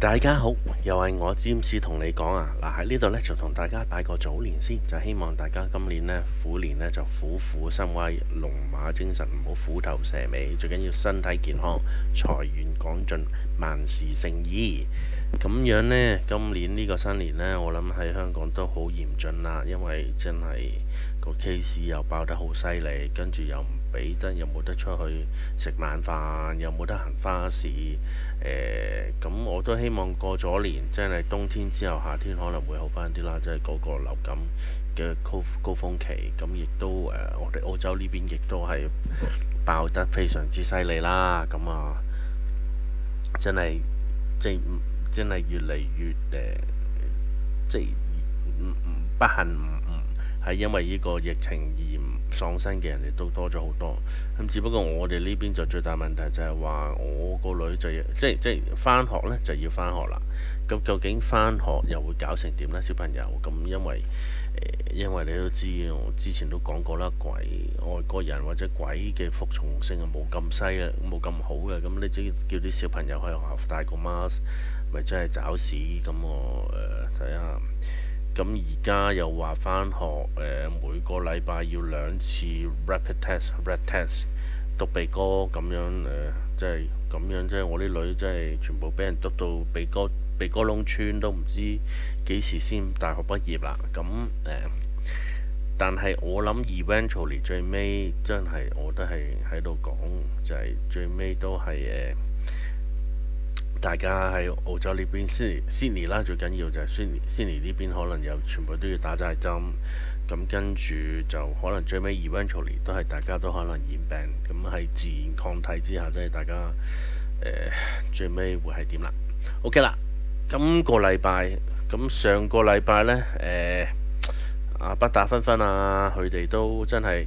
大家好，又係我詹士同你講啊！嗱，喺呢度呢，就同大家拜個早年先，就希望大家今年呢，虎年呢，就虎虎生威，龍馬精神，唔好虎頭蛇尾，最緊要身體健康，財源廣進，萬事勝意。咁樣呢，今年呢個新年呢，我諗喺香港都好嚴峻啦，因為真係個 case 又爆得好犀利，跟住又唔俾得，又冇得出去食晚飯，又冇得行花市。咁我都希望過咗年，真係冬天之後夏天可能會好翻啲啦，即係嗰個流感嘅高峰期。咁亦都我哋澳洲呢邊亦都係爆得非常之犀利啦。咁啊，真係即係真係越嚟越即係不幸係因為呢個疫情而喪生嘅人亦都多咗好多。咁只不過我哋呢邊就最大問題就係話，我個女就要即係返學呢就要返學啦。咁究竟返學又會搞成點呢？小朋友咁因為你都知，我之前都講過啦，外國人或者鬼嘅服從性係冇咁犀啊，冇咁好嘅。咁你只要叫啲小朋友喺學校戴個 mask，咪真係找屎。咁我睇下。咁而家又話返學，每個禮拜要2次 rapid test、red test 篤鼻哥咁樣，即係咁樣，即係我啲女真係全部俾人篤到鼻哥窿穿，都唔知幾時先大學畢業啦。咁但係我諗 eventually 最尾真係我都係喺度講，就係最尾都係大家喺澳洲呢邊 Sydney 啦，最緊要就係 Sydney 呢邊可能又全部都要打晒針，咁跟住就可能最尾 eventually 都係大家都可能染病，咁喺自然抗體之下，即係大家最尾會係點啦？OK 啦，今個禮拜咁上個禮拜呢，不打分分啊，佢哋都真係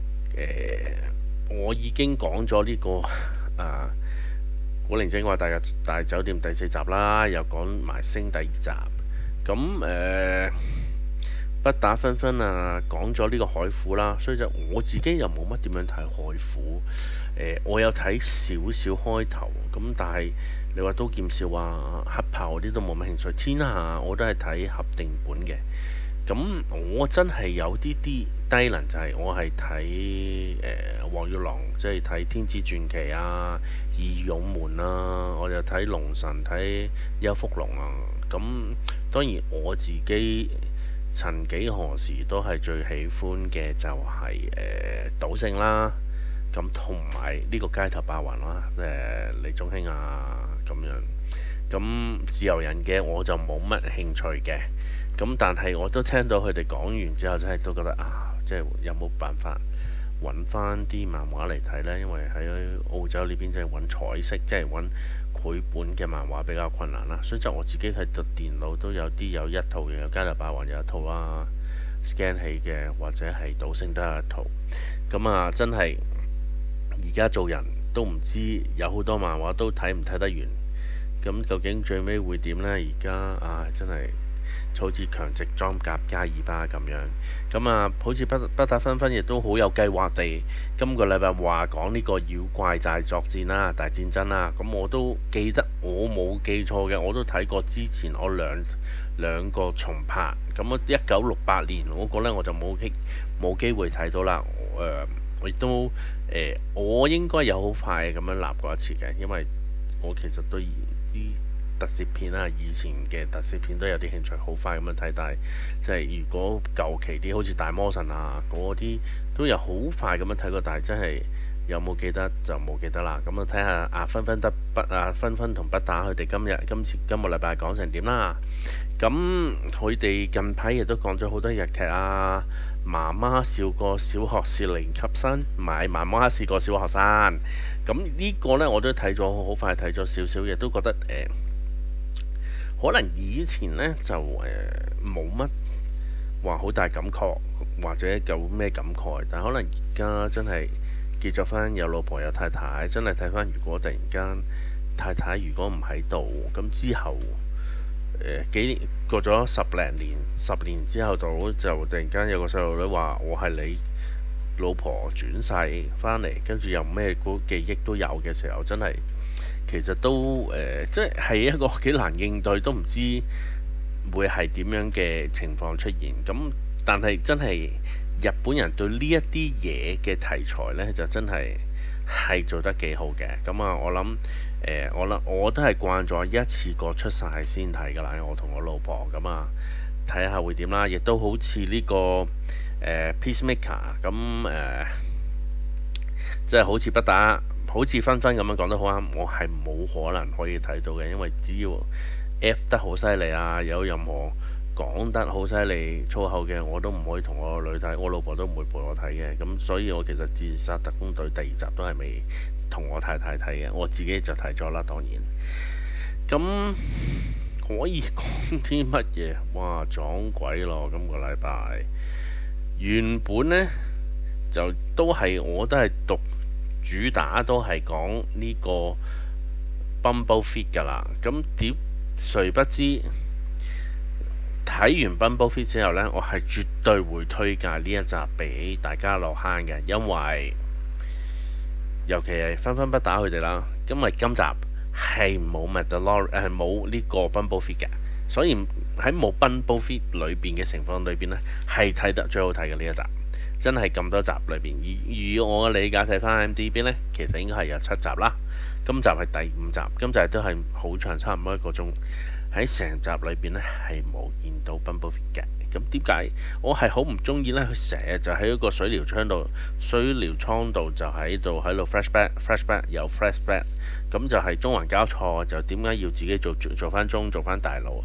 我已經講咗呢個啊。古靈精怪大酒店第4集啦，又講埋星第2集。咁不打分分啊，講咗呢個海虎啦，所以就我自己又冇乜點樣睇海虎。我有睇少少開頭，咁但係你話刀劍笑啊、黑豹嗰啲都冇乜興趣。天下我都係睇合訂本嘅。咁我真係有啲低能，就係我係睇黃玉郎，即係睇天子傳奇啊、義勇門啊，我就睇龍神、睇邱福龍啊。咁當然我自己曾幾何時都係最喜歡嘅就係賭聖啦，咁同埋呢個街頭霸王啦，李宗興啊咁樣。咁自由人嘅我就冇乜興趣嘅。咁但係我都聽到佢哋講完之後，真係都覺得即係有冇辦法揾翻啲漫畫嚟睇呢？因為喺澳洲呢邊即係揾彩色，即係揾繪本嘅漫畫比較困難啦。所以就我自己喺度電腦都有一套嘅，有《街頭霸王》有一套啦，scan 起嘅或者係賭聖都有一套。咁真係而家做人都唔知有好多漫畫都睇唔睇得完。咁究竟最尾會點呢？而家真係〜好似強直裝甲加爾巴咁樣，咁好似不打分分亦都好有計劃地，今個禮拜話講呢個妖怪大作戰啦、大戰爭啦，咁我都記得，我冇記錯嘅，我都睇過之前我兩個重拍，咁1968年嗰個呢，我就冇機會睇到啦，我亦都我應該有好快咁樣立過一次嘅，因為我其實對啲特攝片啦，以前嘅特攝片都有啲興趣，好快咁樣睇。但係即係如果舊期啲，好似大魔神啊嗰啲，都有好快咁樣睇過。但係真係有冇記得就冇記得啦。咁睇下分分同不打佢哋今個禮拜講成點啦。咁佢哋近排亦都講咗好多日劇啊。媽媽笑過小學是零級生，唔係媽媽試過小學生。咁呢個呢，我都睇咗，好快睇咗少少嘢，都覺得可能以前呢，就冇乜話好大感覺，或者有咩感慨，但可能而家真係結咗婚有老婆有太太，真係睇翻如果突然間太太如果唔喺度，咁之後過咗10年之後就突然間有個細路女話我係你老婆轉世翻嚟，跟住又咩記憶都有嘅時候，真係其實都即係一個幾難應對，都唔知會係點樣嘅情況出現。咁但係真係日本人對呢一啲嘢嘅題材呢，就真係做得幾好嘅。咁啊，我都係慣咗一次過出晒先睇㗎啦。我同我老婆咁啊，睇下會點啦。亦都好似呢個Peacemaker 咁即係好似不打，好似分分咁樣講得好啱。我係冇可能可以睇到嘅，因為只要 F 得好犀利啊，有任何講得好犀利粗口嘅，我都唔可以同我女睇，我老婆都唔會陪我睇嘅。咁所以我其實《自殺特工隊》第二集都係未同我太太睇嘅，我自己就睇咗啦，當然。咁可以講啲乜嘢？哇，撞鬼咯！今個禮拜原本呢，就我都係讀主打都係講呢個 Bumble Feet 㗎啦。咁誰不知睇完 Bumble Feet 之後呢，我係絕對會推介呢一集俾大家落坑嘅，因為尤其係分分不打佢哋啦。因為今集係冇 Mandalorian 冇呢個 Bumble Feet 嘅，所以喺冇 Bumble Feet 裏邊嘅情況裏邊呢，係睇得最好睇嘅呢一集。真係咁多集裏邊，以我嘅理解睇翻 IMDb 呢，其實應該係有7集啦。今集係第5集，今集都係好長，差唔多1個鐘。喺成集裏邊呢，係冇見到 Bumble Feet 嘅。咁點解我係好唔中意呢？佢成日就喺一個水療倉度就喺度flashback 又 flashback，咁就係中環交錯，就點解要自己做翻做翻大佬？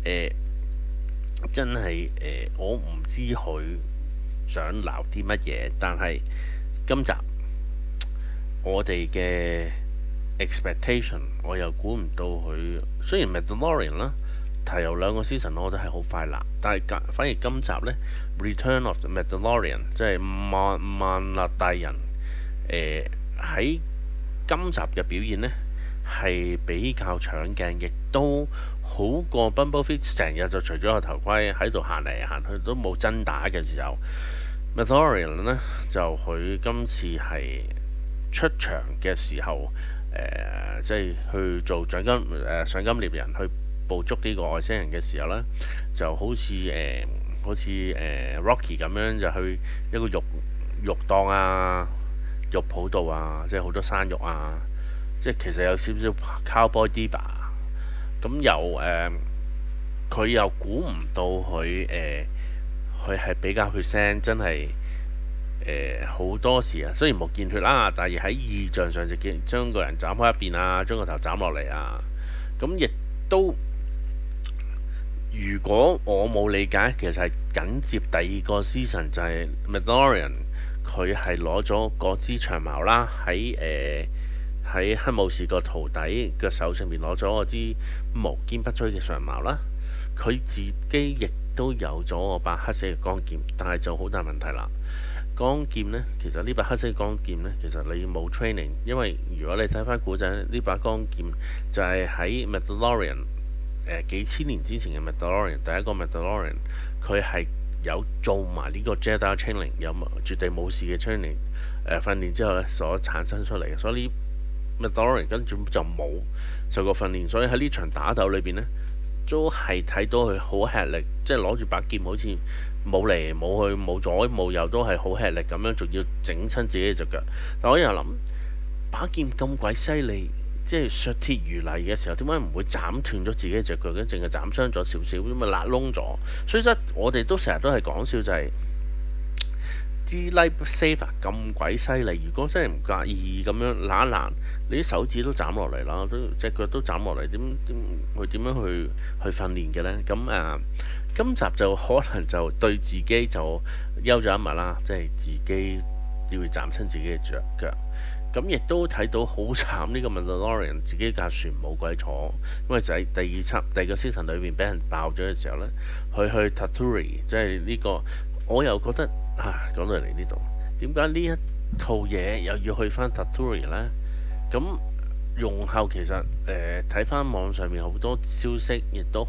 真係我唔知佢想鬧啲乜嘢，但係今集我哋嘅 expectation 我又估唔到佢。雖然 Mandalorian 啦，提有2個 season，我覺得係好快啦，但係反而今集呢 Return of the Mandalorian 即係萬納大人喺今集嘅表現呢，係比較搶鏡，亦都好過 Bumble Feet 成日就除咗個頭盔喺度行嚟行去都冇真打嘅時候。Mandalorian 呢，就佢今次係出場嘅時候，即係去做賞金獵人去捕捉呢個外星人嘅時候呢，就好似Rocky 咁樣就去一個肉檔啊、肉鋪度啊，即係好多生肉啊，即係其實有少少 Cowboy Diva。咁佢又估唔到佢係比較血腥，真係好多時啊。雖然冇見血啦，但係喺意象上就見將個人斬開一邊啊，將個頭斬落嚟啊。咁亦都如果我冇理解，其實係緊接第2個 season 就係 Mandalorian，佢係攞咗嗰支長矛啦，喺黑武士個徒弟嘅手上面攞咗嗰支無堅不摧嘅長矛啦。佢自己亦都有咗我把黑色嘅光劍，但係就好大問題啦。光劍呢，其實呢把黑色嘅光劍呢，其實你冇 training，因為如果你睇翻古仔，呢把光劍就係喺 Mandalorian 幾千年之前嘅 Mandalorian，第一個 Mandalorian 佢係有做埋呢個 Jedi training，有絕對武士嘅 training 訓練之後呢所產生出嚟嘅，所以呢 Mandalorian 根本就冇受過訓練，所以喺呢場打鬥裏邊呢，都係睇到佢好吃力，即係攞住把劍好似冇嚟冇去冇左冇右，都係好吃力咁樣，仲要整親自己隻腳。但我又諗把劍咁鬼犀利，即係削鐵如泥嘅時候，點解唔會斬斷咗自己隻腳嘅？淨係斬傷咗少少，咁咪辣窿咗。所以我哋都成日都係講笑就係、支 lightsaber 咁鬼犀利，如果真係唔介意咁樣揦一揦，你啲手指都斬落嚟啦，隻腳都斬落嚟，佢點樣去訓練嘅呢？咁今集就可能就對自己就休咗一日啦，即係自己要斬親自己嘅腳。咁亦都睇到好慘呢個 Mandalorian 自己架船冇鬼坐，因為就喺第二個 season 裏邊俾人爆咗嘅時候呢，佢去 Tatooine，即係呢個我又覺得講到嚟呢度，點解呢一套嘢又要去翻 Tatooine 呢？咁容後其實睇翻網上面好多消息，亦都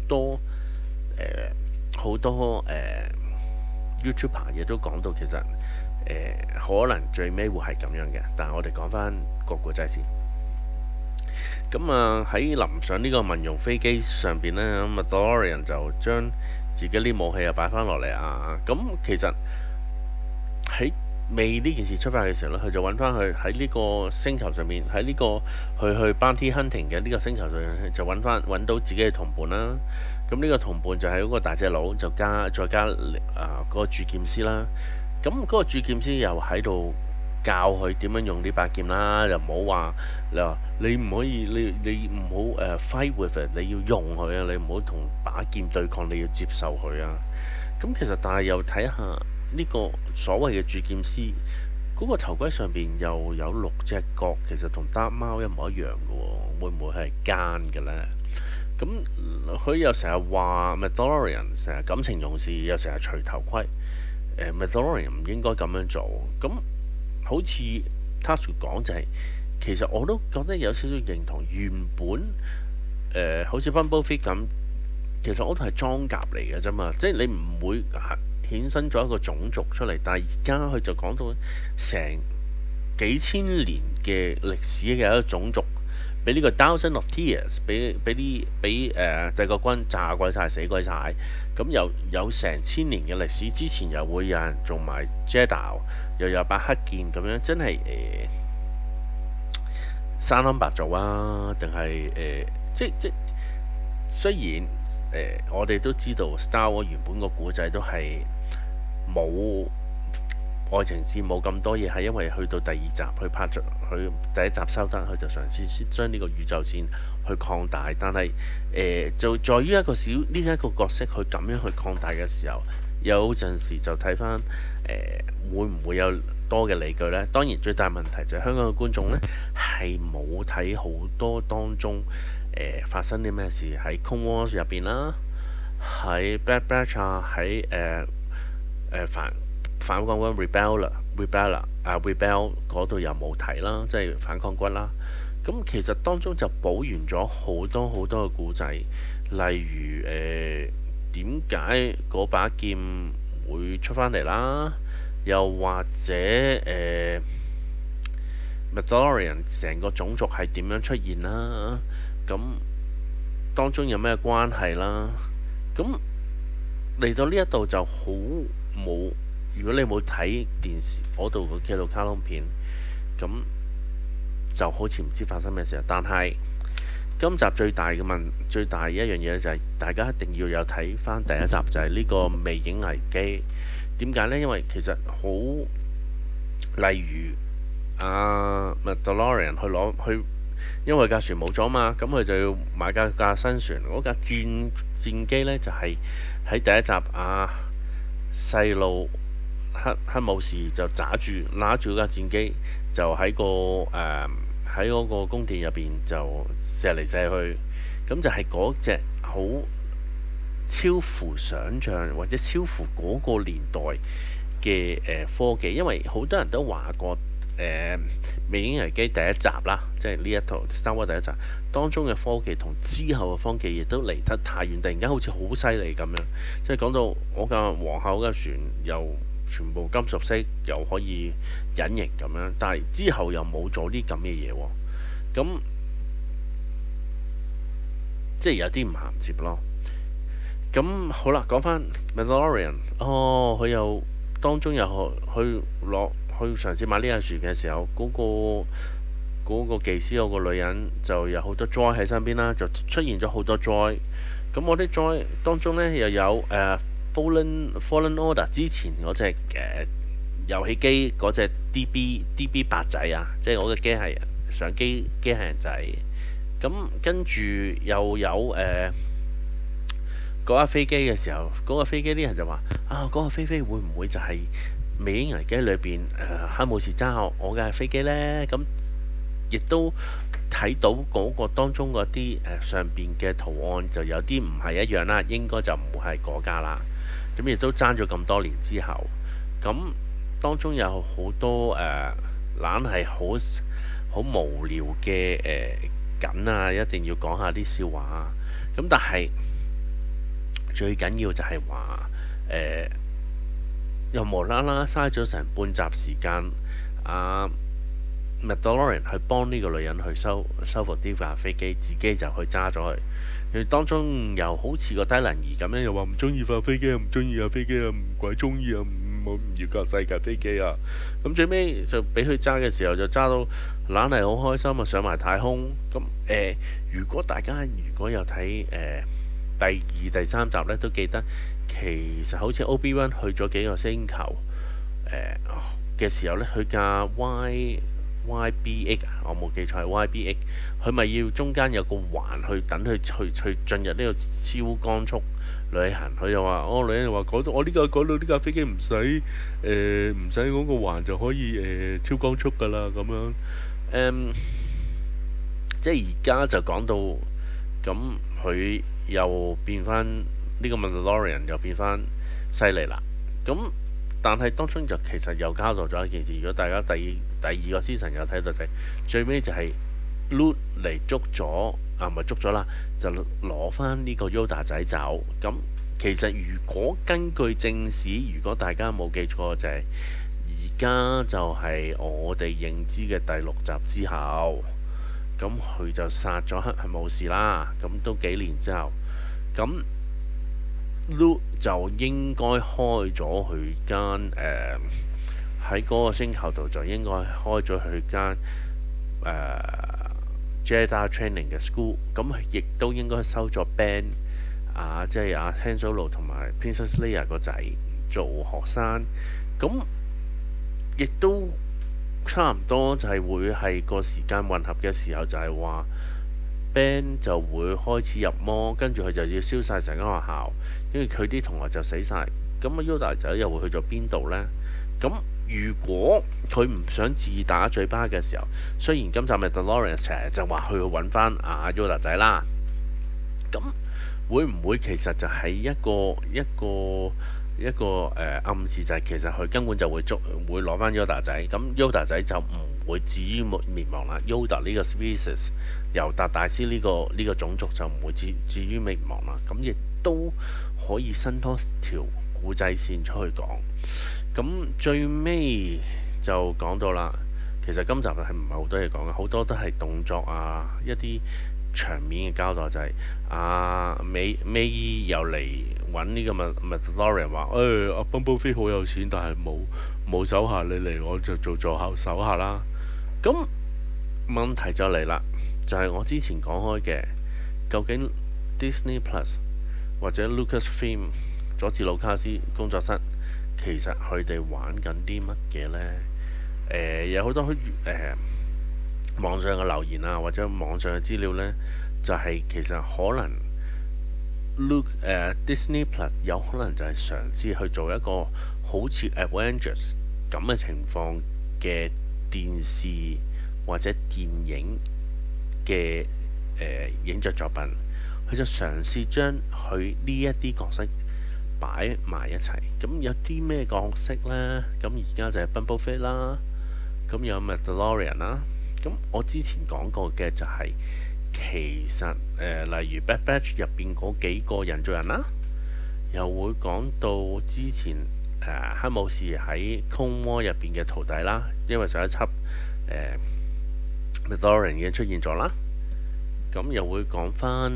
好多YouTuber 亦都講到其實可能最尾會係咁樣嘅。但係我哋講翻個故仔先。 咁啊喺臨上呢個民用飛機上邊呢，咁啊 DeLorean 就將自己啲武器又擺翻落嚟啊。咁其實喺未呢件事出發嘅時候咧，佢就揾翻佢喺呢個星球上面，喺呢個去 Bounty Hunting 嘅呢個星球上面，就揾到自己嘅同伴啦。咁呢個同伴就係嗰個大隻佬，就再加嗰個鑄劍師啦。咁嗰個鑄劍師又喺度教佢點樣用呢把劍啦，又唔好話你唔可以，你唔好fight with it，你要用佢啊，你唔好同把劍對抗，你要接受佢啊。咁其實但係又睇下呢個所謂嘅鑄劍師嗰個頭盔上邊又有6隻角，其實同單貓一模一樣嘅喎，會唔會係奸嘅呢？咁佢又成日話 Mandalorian 成日感情用事，又成日除頭盔。Mandalorian 唔應該咁樣做。咁好似 Tasuku 講就係、其實我都覺得有少少認同。原本好似 Bumblebee Fit 咁，其實我都係裝甲嚟嘅啫嘛，即係你唔會衍生咗一個種族出嚟。但係而家佢就講到成幾千年嘅歷史嘅一個種族，俾呢個 Thousand of Tears，俾帝國軍炸鬼晒、死鬼晒。咁又有成千年嘅歷史，之前又會有人做埋 Jedi，又有把黑劍咁樣，真係生冧白做啊？定係即雖然我哋都知道 Star Wars 原本個古仔都係冇愛情線冇咁多嘢，係因為去到第二集去拍咗，佢第一集收得，佢就嘗試將呢個宇宙線去擴大。但係就在於一個角色佢咁樣去擴大嘅時候，有陣時就睇翻會唔會有多嘅理據呢？當然最大問題就係香港嘅觀眾呢，係冇睇好多當中發生啲咩事喺 Clone Wars 入邊啦，喺 Bad Batch 啊，喺反抗軍 Rebel 嗰度又冇睇啦，即係反抗軍啦。咁其實當中就補完咗好多好多嘅故仔，例如點解嗰把劍會出翻嚟啦，又或者Mandalorian 成個種族係點樣出現啦，咁當中有咩關係啦，咁嚟到呢一度就好冇。如果你冇睇電視嗰度嘅紀錄卡通片，咁就好似唔知發生咩事。但係今集最大一樣嘢就係、大家一定要有睇翻第一集，就係、呢個魅影危機。點解呢？因為其實好例如Mandalorian 去，因為架船冇咗嘛，咁佢就要買架新船。嗰架戰機呢，就係、喺第一集細路黑武士就揦住架戰機，就喺嗰個宮殿入邊就射嚟射去。咁就係嗰隻好超乎想像或者超乎嗰個年代嘅科技。因為好多人都話過《魅影危機》第一集啦，即係呢一套《Star Wars》第一集當中嘅科技同之後嘅科技亦都離得太遠，突然間好似好犀利咁樣。即係講到我架皇后嘅船又全部金屬色，又可以隱形咁樣，但係之後又冇咗啲咁嘅嘢喎。咁即係有啲唔銜接咯。咁好啦，講翻 Mandalorian，佢又當中又去嘗試買呢架船嘅時候，嗰個技師嗰個女人就有好多 droid 喺身邊啦，就出現咗好多 droid。咁我啲 droid 當中呢，又有Fallen Order 之前嗰隻遊戲機嗰隻 DB 八仔啊，即係我嘅機械人仔。咁跟住又有嗰架飛機嘅時候，嗰架飛機啲人就話嗰架飛機會唔會就係《魅影危機》裏邊黑武士揸我架飛機呢？咁亦都睇到嗰個當中嗰啲上邊嘅圖案就有啲唔係一樣啦，應該就唔會係嗰架啦。咁亦都爭咗咁多年之後，咁當中有好多懶係好無聊嘅梗啊，一定要講下啲笑話啊。咁但係最緊要就係話又無啦啦嘥咗成半集時間，啊 Mandalorian 去幫呢個女人去修復呢架飛機，自己就去揸咗佢。佢當中又好似個低能兒咁樣，又話唔中意架飛機啊，唔中意架飛機啊，唔鬼中意啊，唔要架細架飛機啊。咁最尾就俾佢揸嘅時候，就揸到懶係好開心啊，上埋太空。咁如果大家如果有睇第二、第三集呢，都記得其實好似 Obi-Wan 去咗幾個星球嘅時候呢，佢架 YBX 啊，我冇記錯係 YBX，佢咪要中間有個環去等佢去進入呢個超光速旅行。佢就話：女人就話講到我講到呢架飛機唔使嗰個環就可以超光速㗎啦咁樣。誒、即係而家就講到咁，佢又變翻呢個 Mandalorian 又變翻犀利啦。咁但係當中就其實又交代咗一件事，如果大家第二個 season 有睇到就係最尾就係 Luke 嚟捉咗啊，唔係捉咗啦，就攞翻呢個 Yoda 仔走。咁其實如果根據正史，如果大家冇記錯就係而家就係我哋認知嘅第六集之後。咁佢就殺咗黑係冇事啦。咁都幾年之後，咁 Luke 就應該開咗佢間喺嗰個星球度就應該開咗佢間Jedi Training 嘅 school。咁亦都應該收咗 Ben 啊，即係阿 Han Solo 同埋 Princess Leia 個仔做學生。咁亦都差唔多就係會係個時間混合嘅時候，就係話 Ben 就會開始入魔，跟住佢就要燒晒成間學校，跟住佢啲同學就死晒。咁啊 Yoda 仔又會去咗邊度呢？咁如果佢唔想自打嘴巴嘅時候，雖然今集咪 Mandalorian 成日就話去揾翻阿 Yoda 仔啦，咁會唔會其實就係一個暗示，就係其實佢根本就會攞翻 Yoda 仔，咁 Yoda 仔就唔會至於滅亡啦。Yoda 呢個 species 尤達大師呢個種族就唔會至於滅亡啦。咁亦都可以伸多條古仔線出去講。咁最尾就講到啦，其實今集係唔係好多嘢講嘅，好多都係動作啊，一啲場面嘅交代，就係美又嚟揾呢個Mandalorian 話：阿 Bumblebee 好有錢，但係冇手下，你嚟我就做手下啦。咁問題就嚟啦，就係我之前講開嘅，究竟 Disney Plus 或者 Lucasfilm 佐治魯卡斯工作室其實佢哋玩緊啲乜嘢呢？有好多網上嘅留言啊，或者網上嘅資料呢，就係其實可能 Disney Plus 有可能就係嘗試去做一個好似 Avengers 咁嘅情況嘅電視或者電影嘅影像作品，佢就嘗試將佢呢一啲角色擺埋一齊。咁有啲咩角色呢？咁而家就係 Bumblebee 啦，咁有 Mandalorian 啦。咁我之前講過嘅就係、其實例如 Bad Batch 入邊嗰幾個人造人啦，又會講到之前黑武士喺 Clone War 入邊嘅徒弟啦，因為上一輯Mandalorian 已經出現咗啦。咁又會講翻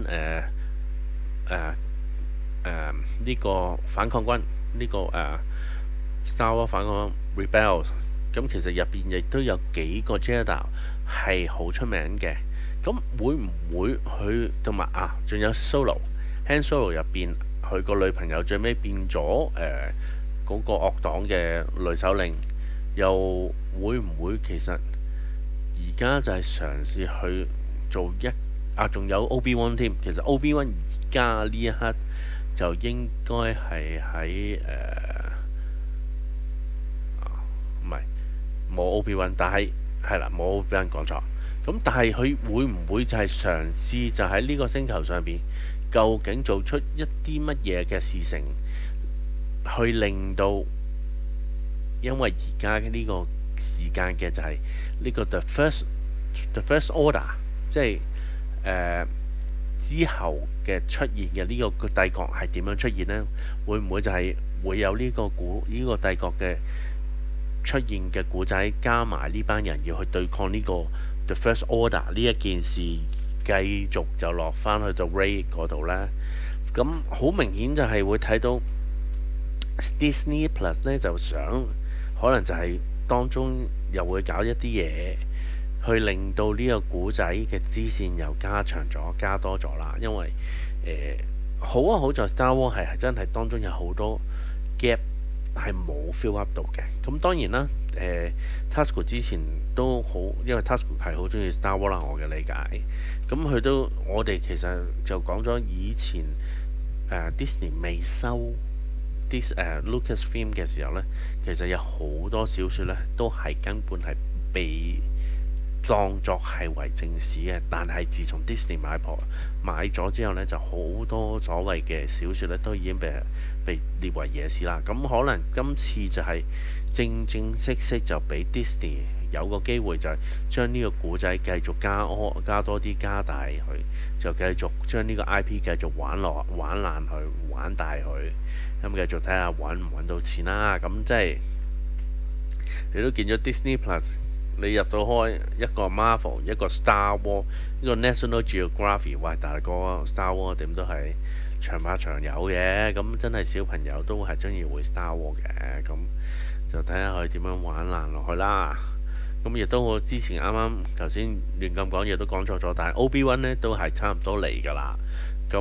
呢個反抗軍呢、個Star Wars 反抗 Rebels。咁其實入邊亦都有幾個 Jedi 係好出名嘅。咁會唔會佢同埋仲有 Han Solo 入邊佢個女朋友最尾變咗嗰個惡黨嘅女首領，又會唔會其實而家就係嘗試去做仲有 Obi-Wan 添。其實 Obi-Wan 而家呢一刻就應該係喺唔係冇 Obi-Wan，但係係啦，冇俾人講錯。咁但係佢會唔會就係嘗試就喺呢個星球上邊，究竟做出一啲乜嘢嘅事情，去令到因為而家呢個時間嘅就係呢個 The First Order，即係之後嘅出現嘅呢個帝國係點樣出現呢？會唔會就係會有呢個帝國嘅出現嘅故仔，加埋呢班人要去對抗呢個 The First Order 呢一件事，繼續就落翻去到 Ray 嗰度呢。咁好明顯就係會睇到 Disney Plus 呢，就想可能就係當中又會搞一啲嘢，去令到呢個古仔嘅支線又加長咗、加多咗啦。因為好啊，好在 Star Wars 係真係當中有好多 gap 係冇 fill up 到嘅。咁當然啦，Tasuku 之前都好，因為 Tasuku 係好中意 Star Wars 啦，我嘅理解。咁佢都我哋其實就講咗以前Disney 未收Lucasfilm 嘅時候呢，其實有好多小説呢都係根本係被當作係為正史嘅，但係自從 Disney 買咗之後呢，就好多所謂嘅小説呢都已經被列為野史啦。咁可能今次就係正正式式就俾 Disney 有個機會，就係將呢個故仔繼續加多啲加大佢，就繼續將呢個 IP 繼續玩爛佢，玩大佢，咁繼續睇下揾唔揾到錢啦。咁即係你都見咗 Disney Plus。你入到開一個 Marvel，一個 Star Wars，一個 National Geographic，喂大哥 Star Wars 點都係長拍長有嘅，咁真係小朋友都係中意會 Star Wars 嘅，咁就睇下佢點樣玩爛落去啦。咁亦都我之前啱啱頭先亂咁講嘢都講錯咗，但係 Obi-Wan 呢都係差唔多嚟㗎啦。咁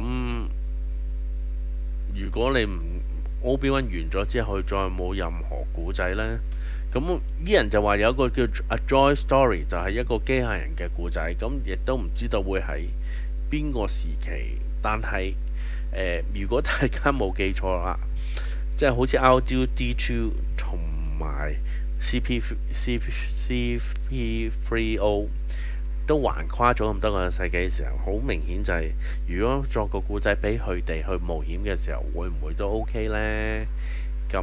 如果你唔 Obi-Wan 完咗之後，佢再冇任何故仔呢？咁啲人就話有一個叫 A Joy Story，就係一個機械人嘅故仔，咁亦都唔知道會喺邊個時期。但係如果大家冇記錯啦，即係好似 R2D2 同埋 CP3O 都橫跨咗咁多個世紀嘅時候，好明顯就係如果作個故仔俾佢哋去冒險嘅時候，會唔會都 OK 呢？咁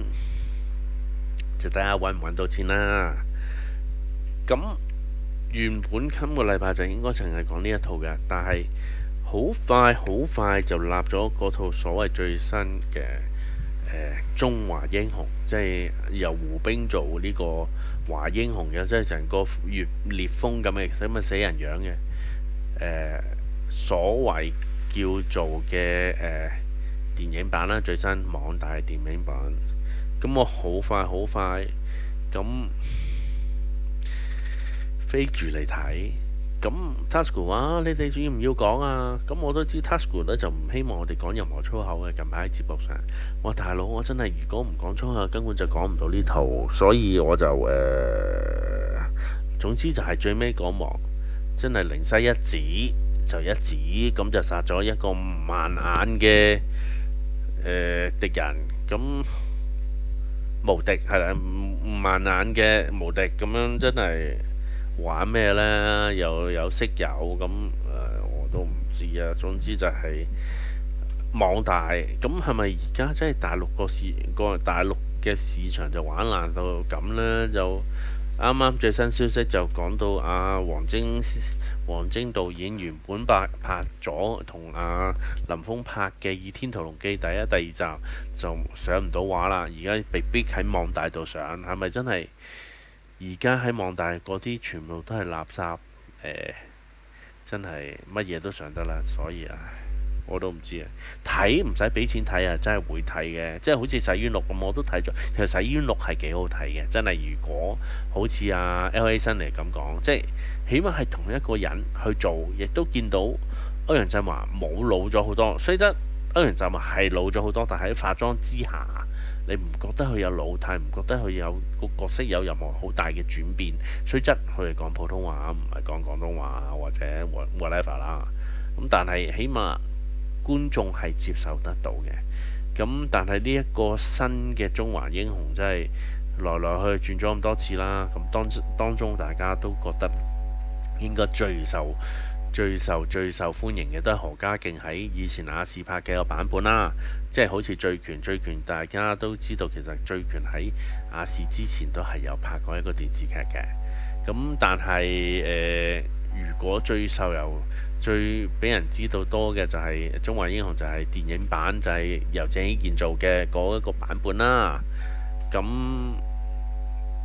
就睇下揾唔揾到錢啦。咁原本今個禮拜就應該淨係講呢一套嘅，但係好快就立咗嗰套所謂最新嘅中華英雄，即係由胡兵做呢個華英雄嘅，即係成個月烈風咁嘅死人樣嘅所謂叫做嘅電影版啦，最新網大電影版。咁我好快咁飛住嚟睇。咁 Tasuku 話：你哋要唔要講啊？咁我都知 Tasuku 咧就唔希望我哋講任何粗口嘅。近排喺節目上，我大佬我真係如果唔講粗口，根本就講唔到呢套，所以我就總之就係最尾嗰幕真係靈犀一指就一指，咁就殺咗一個萬眼嘅敵人。咁無敵係啦，萬眼嘅無敵咁樣真係玩咩呢？又有識友咁我都唔知啊。總之就係網大咁係咪而家真係大陸嘅市場就玩爛到咁呢？就啱啱最新消息就講到黃晶導演原本拍咗同林峰拍嘅《倚天屠龍記》第一、第二集就上唔到畫啦，而家被逼喺網大度上，係咪真係而家喺網大嗰啲全部都係垃圾？真係乜嘢都上得啦，所以我都唔知啊。睇唔使俾錢睇啊，真係會睇嘅。即係好似《洗冤錄》咁，我都睇咗。其實《洗冤錄》係幾好睇嘅，真係。如果好似L.A. 辛尼咁講，即係起碼係同一個人去做，亦都見到歐陽震華冇老咗好多。雖則歐陽震華係老咗好多，但係喺化妝之下，你唔覺得佢有老態，唔覺得佢有個角色有任何好大嘅轉變。雖則佢係講普通話，唔係講廣東話或者 whatever 啦。咁但係起碼觀眾係接受得到嘅。咁但係呢一個新嘅中華英雄真係來來去轉咗咁多次啦。咁當中大家都覺得應該最受歡迎嘅都係何家勁喺以前亞視拍嘅個版本啦。即係好似醉拳大家都知道其實醉拳喺亞視之前都係有拍過一個電視劇嘅。咁但係如果最俾人知道多嘅就係《中華英雄》，就係電影版，就係由鄭伊健做嘅嗰一個版本啦。咁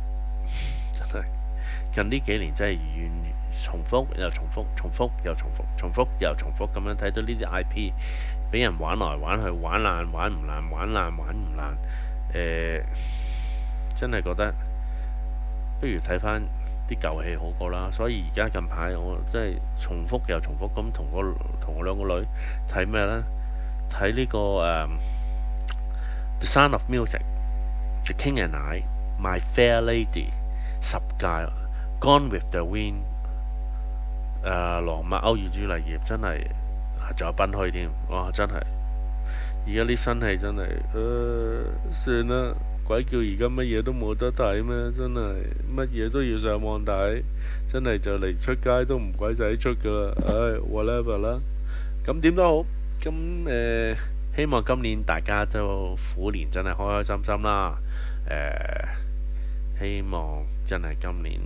近呢幾年真係重複又重複，重複又重複，重複又重複咁樣睇到呢啲 IP 俾人玩來玩去，玩爛玩唔爛，玩爛玩唔爛，真係覺得不如睇翻啲舊戲好過啦。所以而家近排我真係重複又重複咁同我兩個女睇咩呢？睇呢個The Sound of Music、The King and I、My Fair Lady、十戒、Gone with the Wind、羅密歐與朱麗葉真係仲有賓虛添，哇！真係而家啲新戲真係，算啦，鬼叫而家乜嘢都冇得睇咩？真係乜嘢都要上網睇，真係就嚟出街都唔鬼使出噶啦，唉，whatever 啦。咁點都好，咁希望今年大家都虎年真係開開心心啦。希望真係今年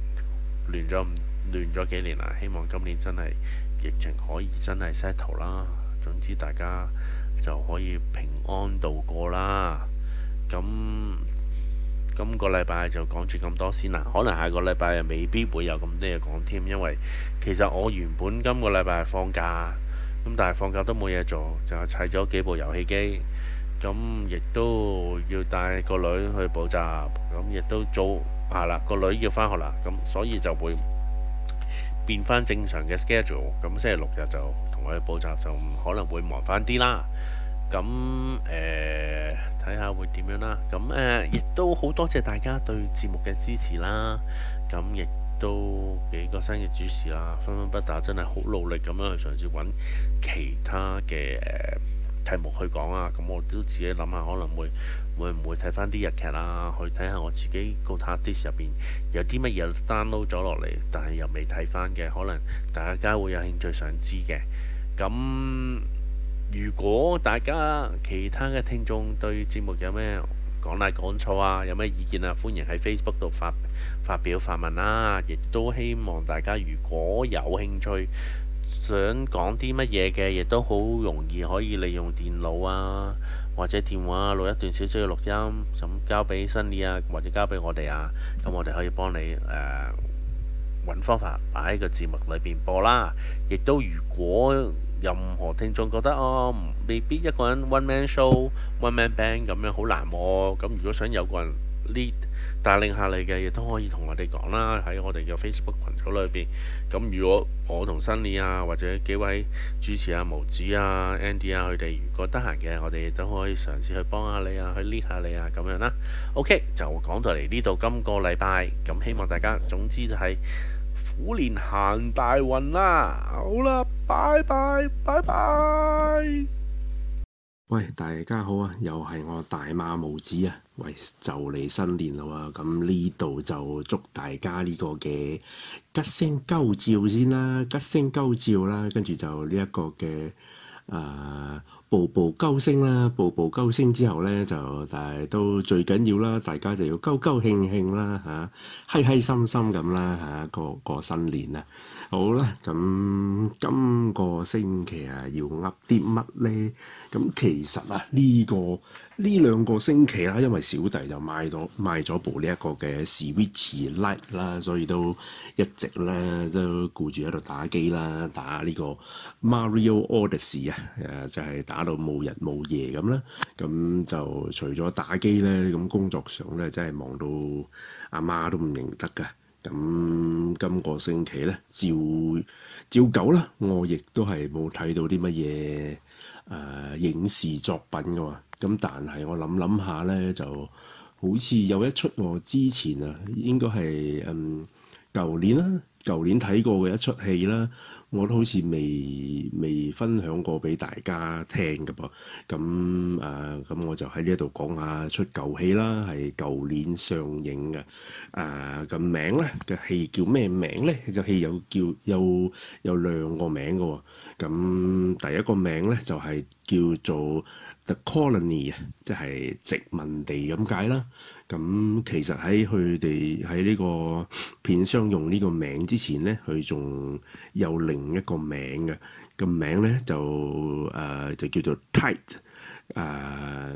亂咗幾年啦，希望今年真係疫情可以真係 settle 啦。總之大家就可以平安度過啦。咁今個禮拜就講住咁多先啦，可能下個禮拜又未必會有咁多嘢講添，因為其實我原本今個禮拜係放假，咁但係放假都冇嘢做，就係砌咗幾部遊戲機，咁亦都要帶個女去補習，咁亦都做係啦，個女要返學啦，咁所以就會變翻正常嘅 schedule，咁星期六日就同佢去補習，就可能會忙翻啲啦。咁睇下會點樣啦。咁亦都好多謝大家對節目嘅支持啦。咁亦都幾個新嘅主持啦，分分不打，真係好努力咁樣去嘗試揾其他嘅題目去講啊。咁我都自己諗下，可能會唔會睇翻啲日劇啊，去睇下我自己個 hard disk 入邊有啲乜嘢 download 咗落嚟，但係又未睇翻嘅，可能大家會有興趣想知嘅。咁如果大家其他嘅聽眾對節目有咩講嚟講錯啊，有咩意見啊，歡迎喺 Facebook 度發表發問啦。亦都希望大家如果有興趣想講啲乜嘢嘅，亦都好容易可以利用電腦啊或者電話錄一段少少嘅錄音，咁交俾新年啊或者交俾我哋啊，咁我哋可以幫你揾方法擺喺個節目裏邊播啦。亦都如果任何聽眾覺得未必一個人 one man show one man band 咁樣好難喎，咁如果想有個人 lead 帶領下你嘅，亦都可以同我哋講啦，喺我哋嘅 Facebook 群組裏邊。咁如果我同 Sunny 啊或者幾位主持啊毛子啊 Andy 啊佢哋如果得閒嘅，我哋亦都可以嘗試去幫下你啊，去 lead 下你啊咁樣啦。OK 就講到嚟呢度，今個禮拜咁希望大家總之就係虎年行大運啦！好啦，拜拜，拜拜。 喂，大家好啊！又係我大馬毛子啊！喂，就嚟新年啦喎，咁呢度就祝大家呢個嘅吉星高照先啦，吉星高照啦，跟住就呢一個嘅步步高升啦，步步高升之後咧就，但係都最緊要啦，大家就要高高興興啦嚇，開心心咁啦嚇，過新年啊！好啦，咁今個星期啊要噏啲乜咧？咁其實啊呢兩個星期啦，因為小弟就買咗部呢一個嘅 Switch Lite 啦，所以都一直咧都顧住喺度打機啦，打呢個 Mario Odyssey 啊，就係打到冇日冇夜咁啦。咁就除咗打機咧，咁工作上咧真係忙到阿媽都唔認得㗎。咁今個星期咧，照舊啦，我亦都係冇睇到啲乜嘢影視作品㗎喎。咁但係我諗下咧，就好似有一出我之前啊，應該係舊年睇過嘅一出戲啦，我都好似未分享過俾大家聽㗎噃。咁我就喺呢一度講下出舊戲啦，係舊年上映嘅。個名咧嘅戲叫咩名咧？個戲有兩個名㗎喎。咁第一個名咧就係叫做 The Colony 啊，即係殖民地咁解啦。咁其實喺佢哋喺呢個片商用呢個名之前咧，佢仲有另一個名嘅，個名咧就叫做 Tide。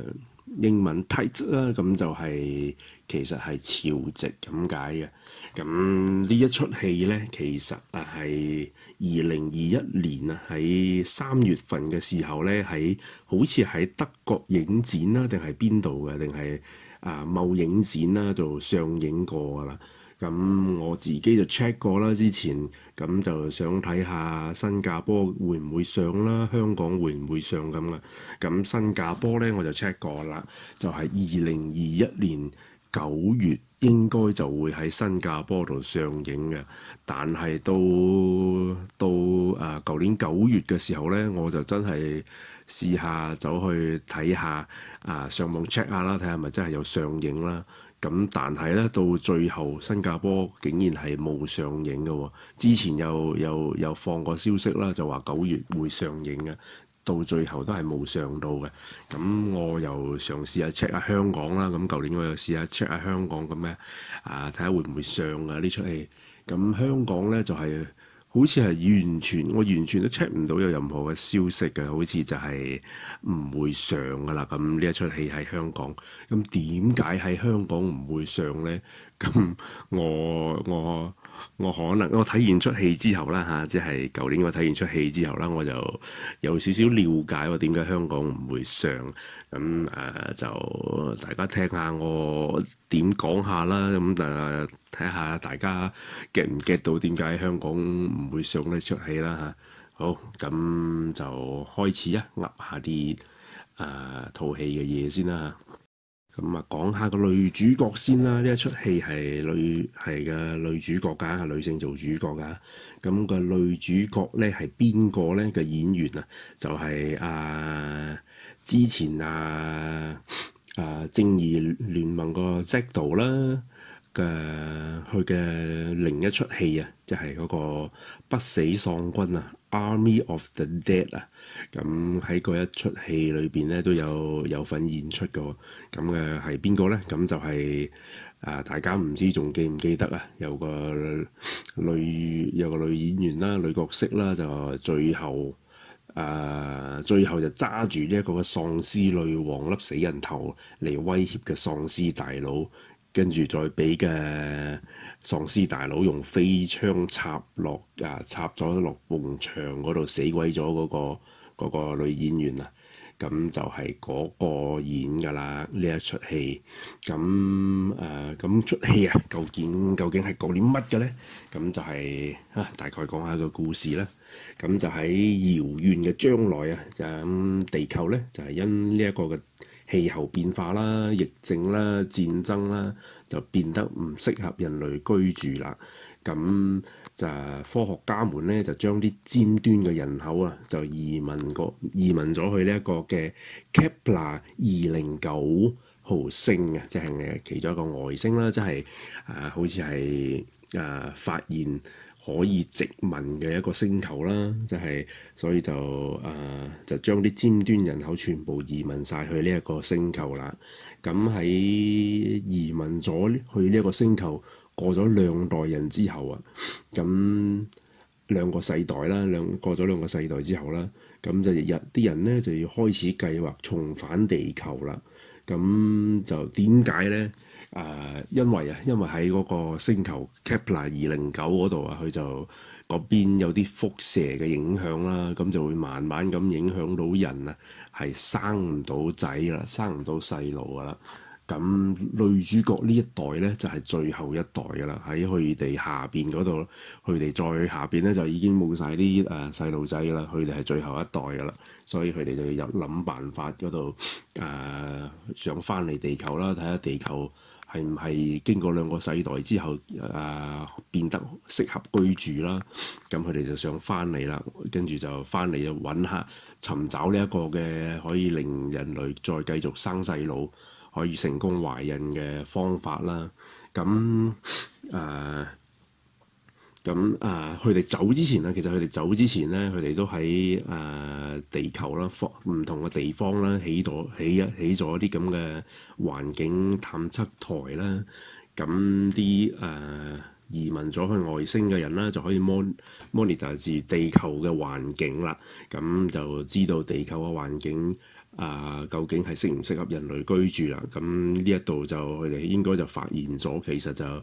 英文 tide 啦，咁就其實係潮汐咁解嘅。咁呢一出戲咧，其實係2021年喺3月份嘅時候咧，好似喺德國影展啦，定係邊度嘅，定係某影展啦度上映過㗎啦。咁我自己就 check 過啦，之前咁就想睇下新加坡會唔會上啦，香港會唔會上咁啦。咁新加坡咧我就 check 過啦，就係2021年9月應該就會喺新加坡度上映嘅。但係到舊年9月嘅時候咧，我就真係試下走去睇下上網 check 下啦，睇下係咪真係有上映啦。咁但係咧，到最後新加坡竟然係冇上映嘅喎。之前又放過消息啦，就話9月會上映嘅，到最後都係冇上到嘅。咁我又嘗試下 check 下香港啦。咁舊年我又試下 check 下香港咁咧，睇下會唔會上呢出戲。咁香港咧就係好似係我完全都 check 唔到有任何嘅消息嘅，好似就係唔會上㗎啦。咁呢一出戲喺香港，咁點解喺香港唔會上咧？咁我可能我睇完出戲之後啦即係舊年我睇完出戲之後啦，我就有少少了解喎，點解香港唔會上。咁就大家聽下我點講下啦。咁睇下大家 get 唔 get 到點解香港唔會上呢出戲啦好，咁就開始噏下啲套戲嘅嘢先啦。咁講下個女主角先啦。呢一出戲係女主角㗎，係女性做主角㗎。咁個女主角咧係邊個咧？嘅演員就係之前正義聯盟個 Zado 啦佢嘅另一出戲就係嗰個不死喪軍Army of the Dead 咁喺嗰一出戲裏邊咧都有份演出嘅。咁嘅係邊個咧？咁就係大家唔知仲記唔記得有個女演員啦，女角色啦，就最後就揸住呢一個喪屍女王粒死人頭嚟威脅嘅喪屍大佬，跟住再俾嘅喪屍大佬用飛槍插咗落埲牆嗰度，死鬼咗嗰個女演員咁就係嗰個演㗎啦呢一出戲。咁出戲究竟係講啲乜嘅咧？咁就係大概講下個故事啦。咁就喺遙遠嘅將來就地球咧就係因呢一個嘅氣候變化啦、疫症啦、戰爭啦，就變得唔適合人類居住啦。咁就科學家們咧就將啲尖端嘅人口就移民咗去呢一個嘅 Kepler 209號星即係其中一個外星啦，即係好似係發現可以殖民嘅一個星球啦，即係所以就將啲尖端人口全部移民晒去呢一個星球啦。咁喺移民咗去呢一個星球過咗2代人之後咁2個世代啦，過咗2個世代之後啦，咁就啲人咧就要開始計劃重返地球啦。咁就點解咧？因為喺嗰個星球 Kepler 209嗰度佢就嗰邊有啲輻射嘅影響啦，咁就會慢慢咁影響到人係生唔到仔啦，生唔到細路噶啦。咁女主角呢一代咧就係最後一代噶啦，喺佢哋下邊嗰度，佢哋再下邊咧就已經冇晒啲細路仔噶啦，佢哋係最後一代噶啦，所以佢哋就要諗辦法嗰度想翻嚟地球啦，睇下地球係唔係經過2個世代之後變得適合居住啦。咁佢哋就想翻嚟啦，跟住就翻嚟就尋找呢一個嘅可以令人類再繼續生細路，可以成功懷孕嘅方法啦。咁佢哋走之前其實佢哋走之前咧，佢哋都喺地球啦，唔同嘅地方啦，起咗啲咁嘅環境探測台啦。咁啲移民咗去外星嘅人啦，就可以 monitor 住地球嘅環境啦，咁就知道地球嘅環境究竟係適唔適合人類居住啦。咁呢一度就佢哋應該就發現咗，其實就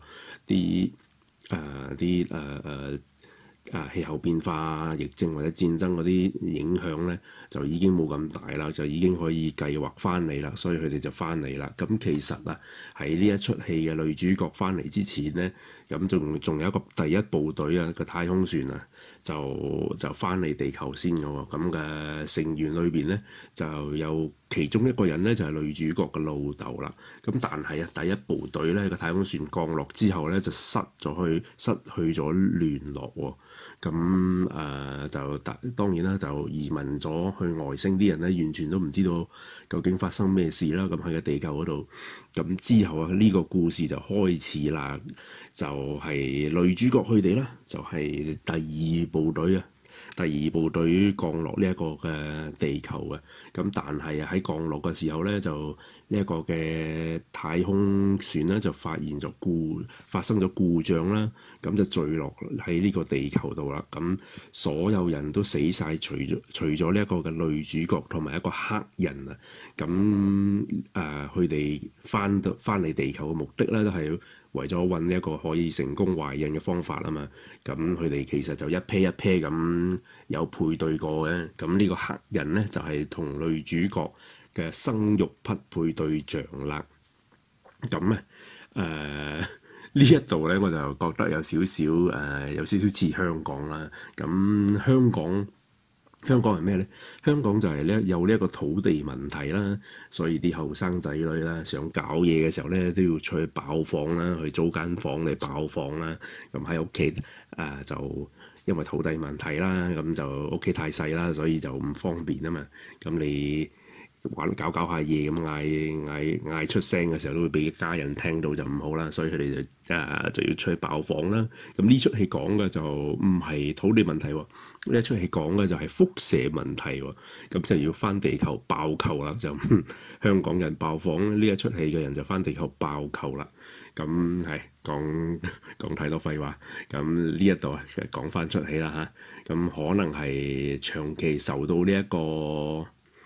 氣候變化、疫症或者戰爭嗰啲影響咧，就已經冇咁大啦，就已經可以計劃翻嚟啦，所以佢哋就翻嚟啦。咁其實喺呢一出戲嘅女主角翻嚟之前咧，咁仲有一個第一部隊個太空船就翻嚟地球先嘅喎。咁嘅成員裏邊咧，就有其中一個人咧就係女主角嘅老豆啦。咁但係第一部隊咧個太空船降落之後咧就失去咗聯絡喎。咁就當然啦，就移民咗去外星啲人咧，完全都唔知道究竟發生咩事啦。咁喺個地球嗰度，咁之後呢個故事就開始啦，就係女主角佢哋啦，就係第二部隊降落呢一個嘅地球嘅。咁但係喺降落嘅時候咧，就呢一個嘅太空船咧就發生咗故障啦，咁就墜落喺呢個地球度啦。咁所有人都死晒，除咗呢一個嘅女主角同埋一個黑人啊。咁佢哋翻嚟地球嘅目的咧，都係為咗揾呢一個可以成功懷孕嘅方法啊嘛。咁佢哋其實就一 pair 一 pair 咁有配對過嘅。咁呢個黑人咧就係同女主角嘅生育匹配對象啦。咁咧呢一度咧我就覺得有少少似香港啦。咁香港係咩咧？香港就係咧有呢一個土地問題啦，所以啲後生仔女啦想搞嘢嘅時候咧都要出去爆房啦，去租間房嚟爆房啦。咁喺屋企就因為土地問題啦，咁就屋企太細啦，所以就唔方便啊嘛。咁你搞下嘢咁嗌出聲嘅時候都會俾家人聽到，就唔好啦，所以佢哋就要出去爆房啦。咁呢出戲講嘅就唔係土地問題喎，呢一出戲講嘅就係輻射問題喎。咁就要翻地球爆球啦，就香港人爆房，呢一出戲嘅人就翻地球爆球啦。咁係講太多廢話，咁呢一度講翻出戲啦嚇。咁可能係長期受到呢一個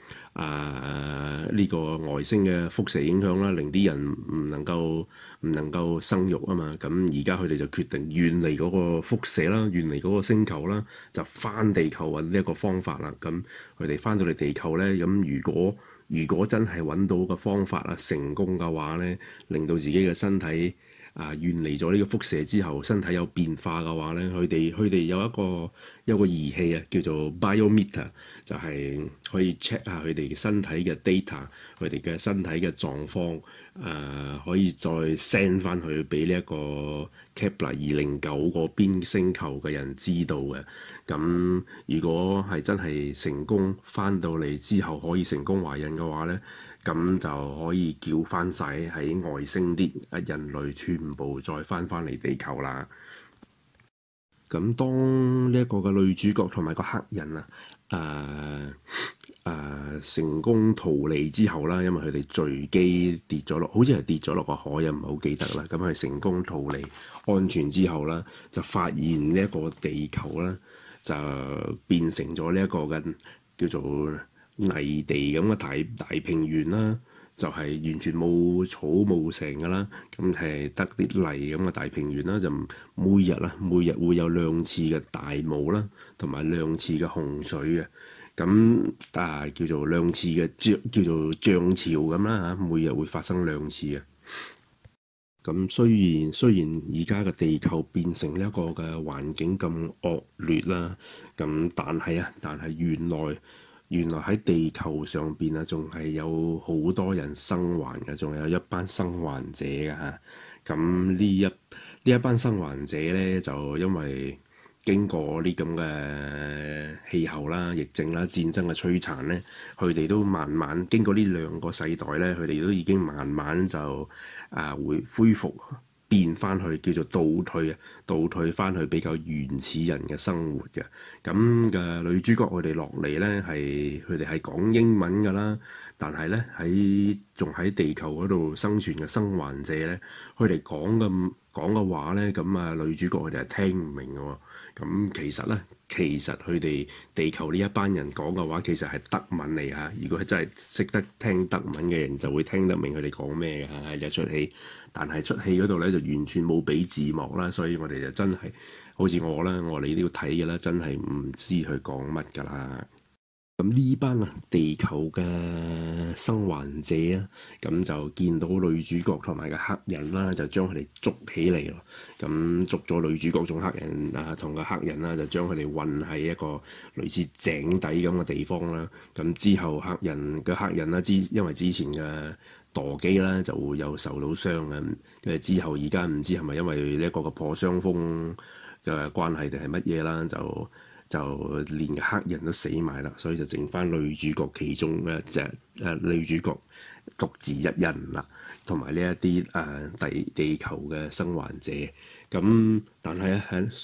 呢個外星嘅輻射影響啦，令啲人唔能夠生育啊嘛。咁而家佢哋就決定遠離嗰個輻射啦，遠離嗰個星球啦，就翻地球揾呢一個方法啦。咁佢哋翻到嚟地球咧，咁如果真係揾到個方法成功嘅話咧，令到自己嘅身體遠離咗呢個輻射之後，身體有變化嘅話咧，佢哋有一個儀器叫做 biometer， 就係可以 check 下佢哋嘅身體嘅 data， 佢哋嘅身體嘅狀況，可以再 send 翻去俾呢一個 Kepler 209嗰邊星球嘅人知道嘅。咁如果係真係成功翻到嚟之後可以成功懷孕嘅話咧，咁就可以叫翻晒喺外星啲人類全部再翻嚟地球啦。咁當呢一個嘅女主角同埋個黑人成功逃離之後啦，因為佢哋墜機跌咗落，好似係跌咗落個海，又唔係好記得啦。咁佢成功逃離安全之後啦，就發現呢一個地球啦，就變成咗呢一個嘅叫做泥地咁嘅大平原啦，就係完全冇草冇成㗎啦，咁係得啲泥咁嘅大平原啦，就每日會有2次嘅大霧啦，同埋2次嘅洪水嘅，咁叫做2次嘅叫做漲潮咁啦嚇，每日會發生2次嘅。咁雖然而家嘅地球變成呢一個嘅環境咁惡劣啦，咁但係原來喺地球上邊仲係有好多人生還嘅，仲有一班生還者嘅嚇。咁呢一班生還者咧，就因為經過啲咁嘅氣候啦、疫症啦、戰爭嘅摧殘咧，佢哋都慢慢經過呢2個世代咧，佢哋都已經慢慢就會恢復變翻去叫做倒退翻去比較原始人嘅生活嘅。咁嘅女主角佢哋落嚟咧佢哋係講英文㗎啦，但係咧仲喺地球嗰度生存嘅生還者咧，佢哋講嘅話咧，咁啊女主角佢哋係聽唔明嘅喎。咁其實佢哋地球呢一班人講嘅話其實係德文嚟嚇。如果真係識得聽德文嘅人就會聽得明佢哋講咩嘅嚇，係一出戲。但係出戲嗰度咧就完全冇俾字幕啦，所以我哋就真係好似我哋都要睇嘅啦，真係唔知佢講乜㗎啦。咁呢班地球嘅生還者啊，咁就見到女主角同埋個黑人啦，就將佢哋捉起嚟咯。咁捉咗女主角同黑人同個黑人啦，就將佢哋運喺一個類似井底咁嘅地方啦。咁之後黑人啦，因為之前嘅墮機啦，就會有受到傷嘅。跟住之後而家唔知係咪因為呢一個嘅破傷風嘅關係定係乜嘢啦，就連黑人都死埋啦，所以就剩翻女主角其中一隻女主角獨自一人啦，同埋呢一啲地球嘅生還者。咁但係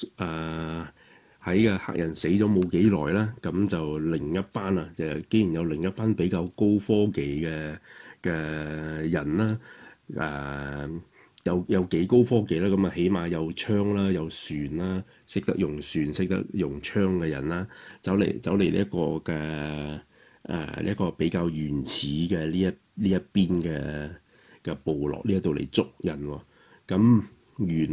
喺個黑人死咗冇幾耐啦，咁就另一班就竟然有另一班比較高科技嘅人啦，有幾高科技啦，咁啊起碼有槍啦，有船啦，識得用船、識得用槍嘅人啦，走嚟呢一個嘅呢一個比較原始嘅呢一邊嘅部落呢一度嚟捉人喎。咁原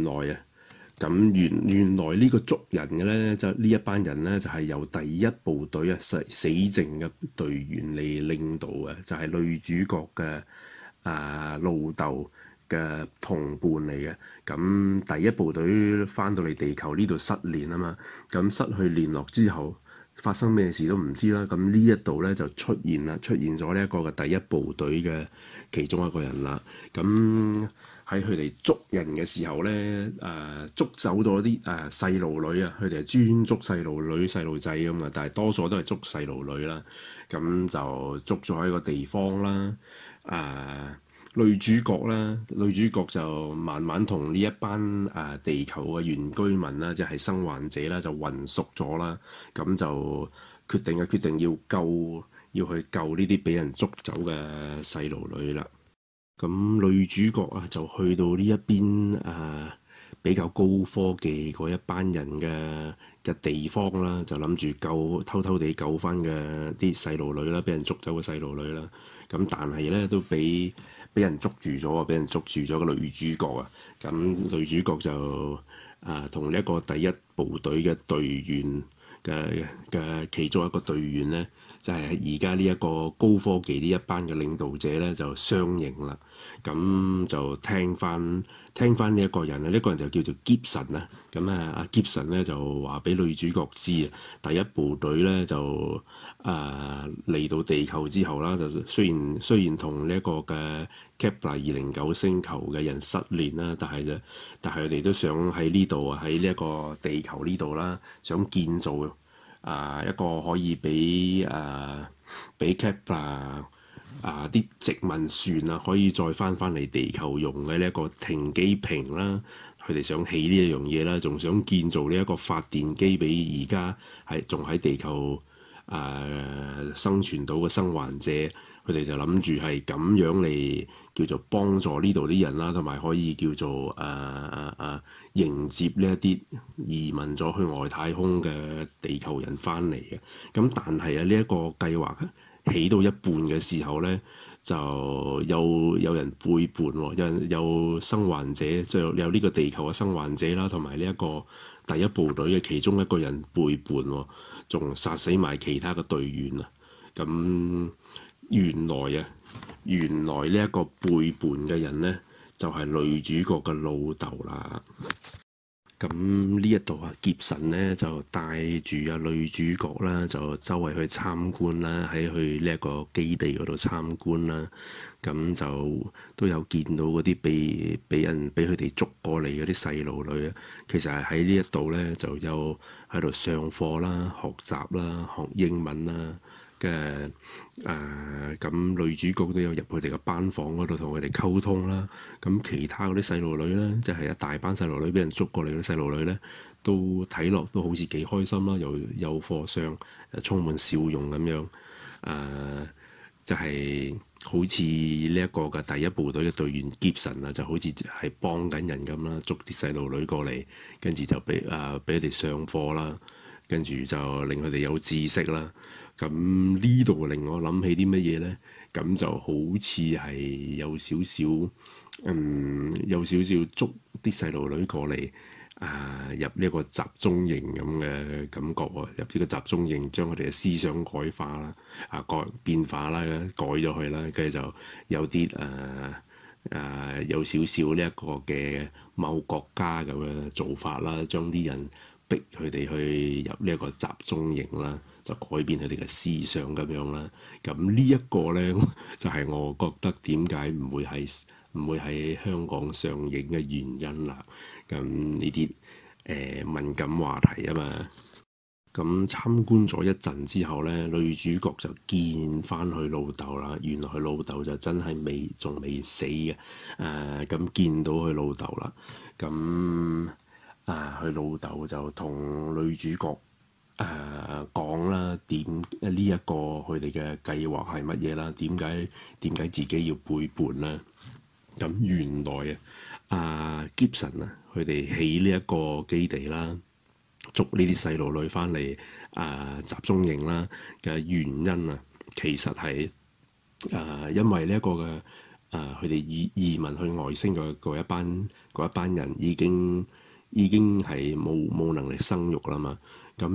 來呢個捉人嘅咧，就呢一班人咧就係由第一部隊死剩嘅隊員嚟領導嘅，就係女主角嘅老豆嘅同伴嚟嘅。咁第一部隊翻到嚟地球呢度失聯啊嘛，咁失去聯絡之後發生咩事都唔知啦。咁呢一度咧就出現咗呢一個嘅第一部隊嘅其中一個人啦。咁喺佢哋捉人嘅時候咧，捉走咗啲細路女啊，佢哋係專捉細路女細路仔咁啊，但係多數都係捉細路女啦。咁就捉咗喺個地方啦。女主角就慢慢同呢一班地球嘅原居民啦，即係生還者啦，就混熟咗啦。咁就決定要去救呢啲俾人捉走嘅細路女啦。咁女主角就去到呢一邊比較高科技嗰一班人嘅地方啦，就諗住偷偷地救翻嘅啲細路女啦，俾人捉走嘅細路女啦。咁但係咧都俾人捉住咗個女主角啊。咁女主角就同呢一個第一部隊嘅隊員嘅其中一個隊員咧，就係而家呢一個高科技呢一班嘅領導者咧，就相認啦。咁就聽翻呢一個人啊，呢個人就叫做 Gibson啊。咁阿 Gibson 咧就話俾女主角知啊，第一部隊咧就嚟到地球之後啦，就雖然同呢一個嘅 Kepler 2009星球嘅人失聯啦，但係佢哋都想喺呢度喺呢一個地球呢度啦，想建造一個可以俾 Kepler啲殖民船可以再翻嚟地球用嘅呢一個停機坪啦，佢哋想起呢一樣嘢啦，仲想建造呢一個發電機俾而家仲喺地球生存到嘅生還者，佢哋就諗住係咁樣嚟叫做幫助呢度啲人啦，同埋可以叫做迎接呢一啲移民咗去外太空嘅地球人翻嚟嘅。咁但係呢一個計劃起到一半嘅時候咧，就有人背叛喎，有生還者，即係有呢個地球嘅生還者啦，同埋呢一個第一部隊嘅其中一個人背叛喎，仲殺死埋其他嘅隊員啊！咁原來呢一個背叛嘅人咧，就係女主角嘅老豆啦。咁呢一度傑神咧就帶住女主角啦，就周圍去參觀啦，喺去呢一個基地嗰度參觀啦。咁就都有見到嗰啲俾佢哋捉過嚟嗰啲細路女啊。其實係喺呢一度咧就有喺度上課啦、學習啦、學英文啦。 嘅咁女主角都有入佢哋嘅班房嗰度同佢哋溝通啦。咁其他嗰啲細路女咧，即係一大班細路女俾人捉過嚟嗰啲細路女咧，都睇落都好似幾開心啦，又有課上，充滿笑容咁樣。就係好似呢一個嘅第一部隊嘅隊員傑神啊，就好似係幫緊人咁啦，捉啲細路女過嚟，跟住就俾佢哋上課啦，跟住就令佢哋有知識啦。咁呢度令我諗起啲乜嘢咧？咁就好似係有少少捉啲細路女過嚟。入呢一個集中營咁嘅感覺喎，入呢個集中營將佢哋嘅思想改化啦，變化啦，改咗佢啦，跟住就有啲有少少呢一個嘅某國家咁嘅做法啦，將啲人逼佢哋去入呢一個集中營啦，就改變佢哋嘅思想咁樣啦。咁呢一個咧就係我覺得點解唔會喺香港上映嘅原因啦。咁呢啲敏感話題啊嘛。咁參觀咗一陣之後咧，女主角就見翻佢老豆啦。原來佢老豆就真係仲未死嘅。咁見到佢老豆啦。咁佢老豆就同女主角講啦，點呢一個佢哋嘅計劃係乜嘢啦？點解自己要背叛啦？咁原來Gibson 佢哋起呢一個基地啦，捉呢啲細路女翻嚟集中營啦嘅原因啊，其實係因為呢一個嘅佢哋移民去外星嘅嗰一班人已經係冇能力生育啦嘛。咁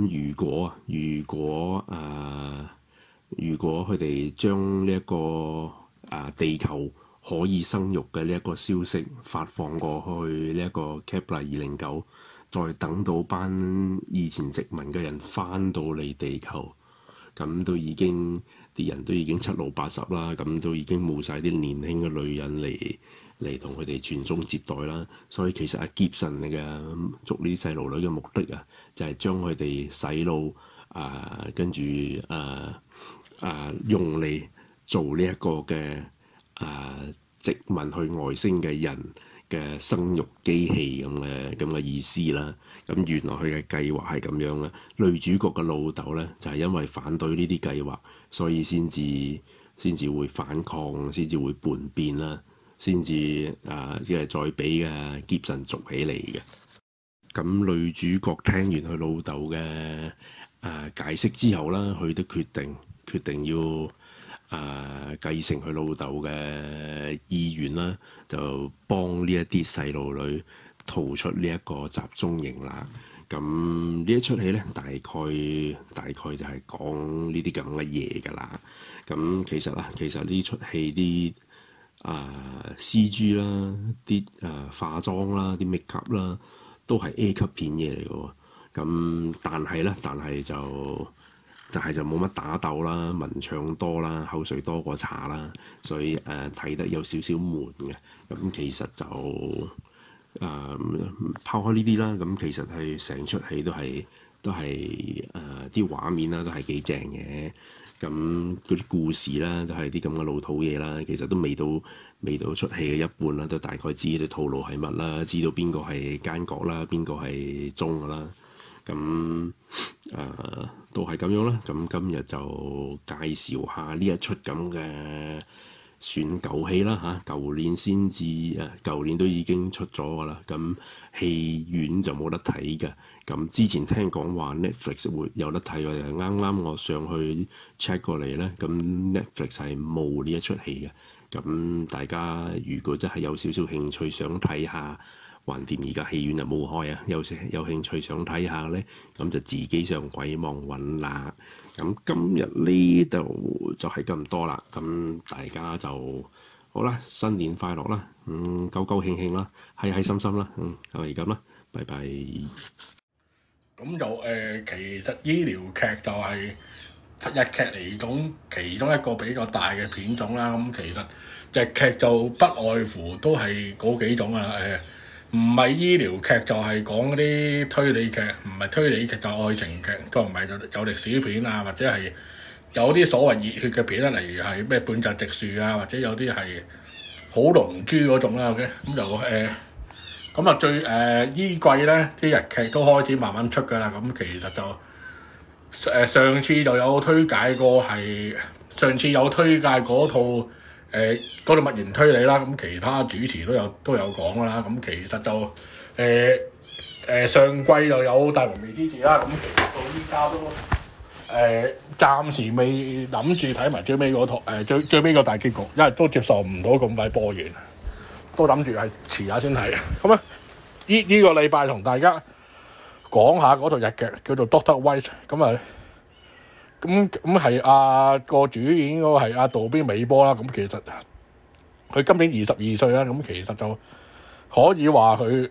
如果佢哋將呢一個地球可以生育嘅呢一個消息發放過去呢一個 Kepler 209，再等到班以前殖民嘅人翻到嚟地球，咁啲人都已經七老八十啦，咁都已經冇晒啲年輕嘅女人嚟同佢哋傳宗接代啦。所以其實Gibson嘅捉呢啲細路女嘅目的啊，就係將佢哋洗腦跟住用嚟做呢一個嘅殖民去外星嘅人嘅生育機器咁嘅意思啦。咁原來佢嘅計劃係咁樣啦。女主角嘅老豆咧就係因為反對呢啲計劃，所以先至會反抗，先至會叛變啦，先至即係再俾傑神捉起嚟嘅。咁女主角聽完佢老豆嘅解釋之後啦，佢都決定要繼承佢老豆嘅意願啦，就幫呢一啲細路女逃出呢一個集中營啦。咁呢一出戲咧，大概就係講呢啲咁嘅嘢㗎啦。咁其實呢出戲啲CG 啦，啲化妝啦，啲 make up 啦，都係 A 級片嘢嚟嘅喎。咁但係就冇乜打鬥啦，文唱多啦，口水多過茶啦，所以睇得有少少悶嘅。咁其實就拋開呢啲啦，咁其實係成出戲都係啲畫面啦，都係幾正嘅。咁嗰啲故事啦，都係啲咁嘅老土嘢啦，其實都未到出戲嘅一半啦，都大概知啲套路係乜啦，知道邊個係奸角啦，邊個係忠㗎啦。咁都係咁樣啦。咁今日就介紹下呢一出咁嘅算舊戲啦嚇，舊年都已經出咗㗎啦。咁戲院就冇得睇㗎。咁之前聽講話 Netflix 會有得睇，我啱我上去 check 過嚟咧，咁 Netflix 係冇呢一出戲嘅。咁大家如果真係有少少興趣想睇下，橫掂而家戲院就冇開啊，有興趣想睇下咧，咁就自己上鬼網揾啦。咁今日呢度就係咁多啦。咁大家就好啦，新年快樂啦，高高興興啦，開心心啦，就係咁啦，拜拜。 咁就其實醫療劇就係日劇嚟講其中一個比較大嘅片種啦。咁其實日劇就不外乎都係嗰幾種啊。唔係醫療劇就係講嗰啲推理劇，唔係推理劇就愛情劇，再唔係就歷史片啊，或者係有啲所謂熱血嘅片啦，例如係咩半澤直樹啊，或者有啲係好龍珠嗰種啦。OK，咁就咁啊依季咧啲日劇都開始慢慢出㗎啦。咁其實就上次就有推介過係上次有推介嗰套嗰套物言推理啦。咁其他主持都有講㗎啦。咁其實就上季又有大門未知字啦。咁其實到依家都暫時未諗住睇埋最尾嗰套最尾個大結局，因為都接受唔到咁快播完，都諗住係遲下先睇。咁啊，呢個禮拜同大家講下嗰套日劇叫做 Doctor White。咁啊，咁係個主演嗰個係阿渡邊美波啦。咁其實佢今年22歲啦。咁其實就可以話佢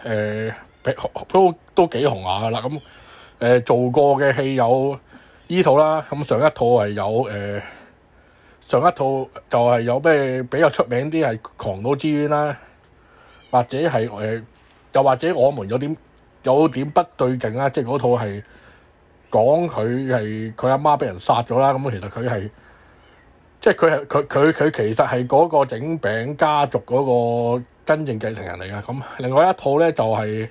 都幾紅下㗎啦。咁做過嘅戲有依套啦。咁上一套係有上一套就係有咩比較出名啲係《狂賭之淵》啦，或者係又或者我們有點不對勁啦，即係嗰套係講佢阿媽俾人殺咗啦。咁其實佢係即係佢其實係嗰個整餅家族嗰個真正繼承人嚟㗎。咁另外一套咧就係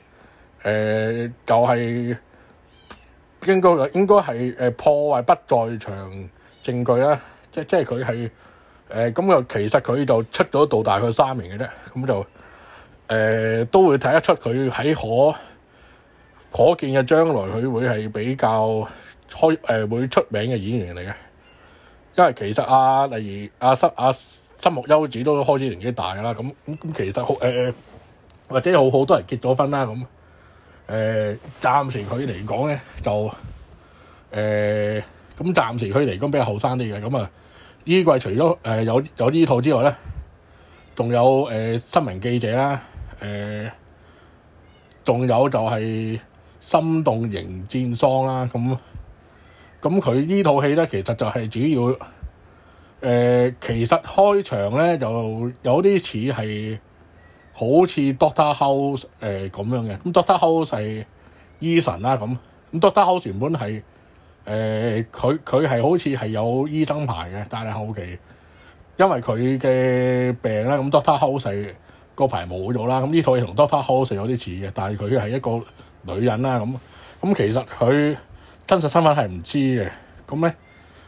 應該係破壞不在場證據啦。即係佢係咁又其實佢就出咗道大概3年嘅啫。咁就都會睇得出佢喺可見嘅將來佢會係比較會出名嘅演員嚟嘅。因為其實例如新木優子都開始年紀大啦。咁其實或者好多人結咗婚啦。咁暫時佢嚟講咧就咁暫時佢嚟講比較後生啲嘅。咁啊依季除咗有呢套之外咧，仲有新聞記者啦。仲有就係心動迎戰喪啦。咁佢呢套戲咧其實就係主要其實開場咧就有啲似係好似 Doctor House 咁樣嘅。咁 Doctor House 係醫神啦。咁 Doctor House 原本係佢係好似係有醫生牌嘅，但係後期因為佢嘅病啦，咁 Doctor House 係個牌冇咗啦。咁呢套嘢同 Doctor House 有啲似嘅，但係佢係一個女人啦。咁其實佢真實身份係唔知嘅。咁咧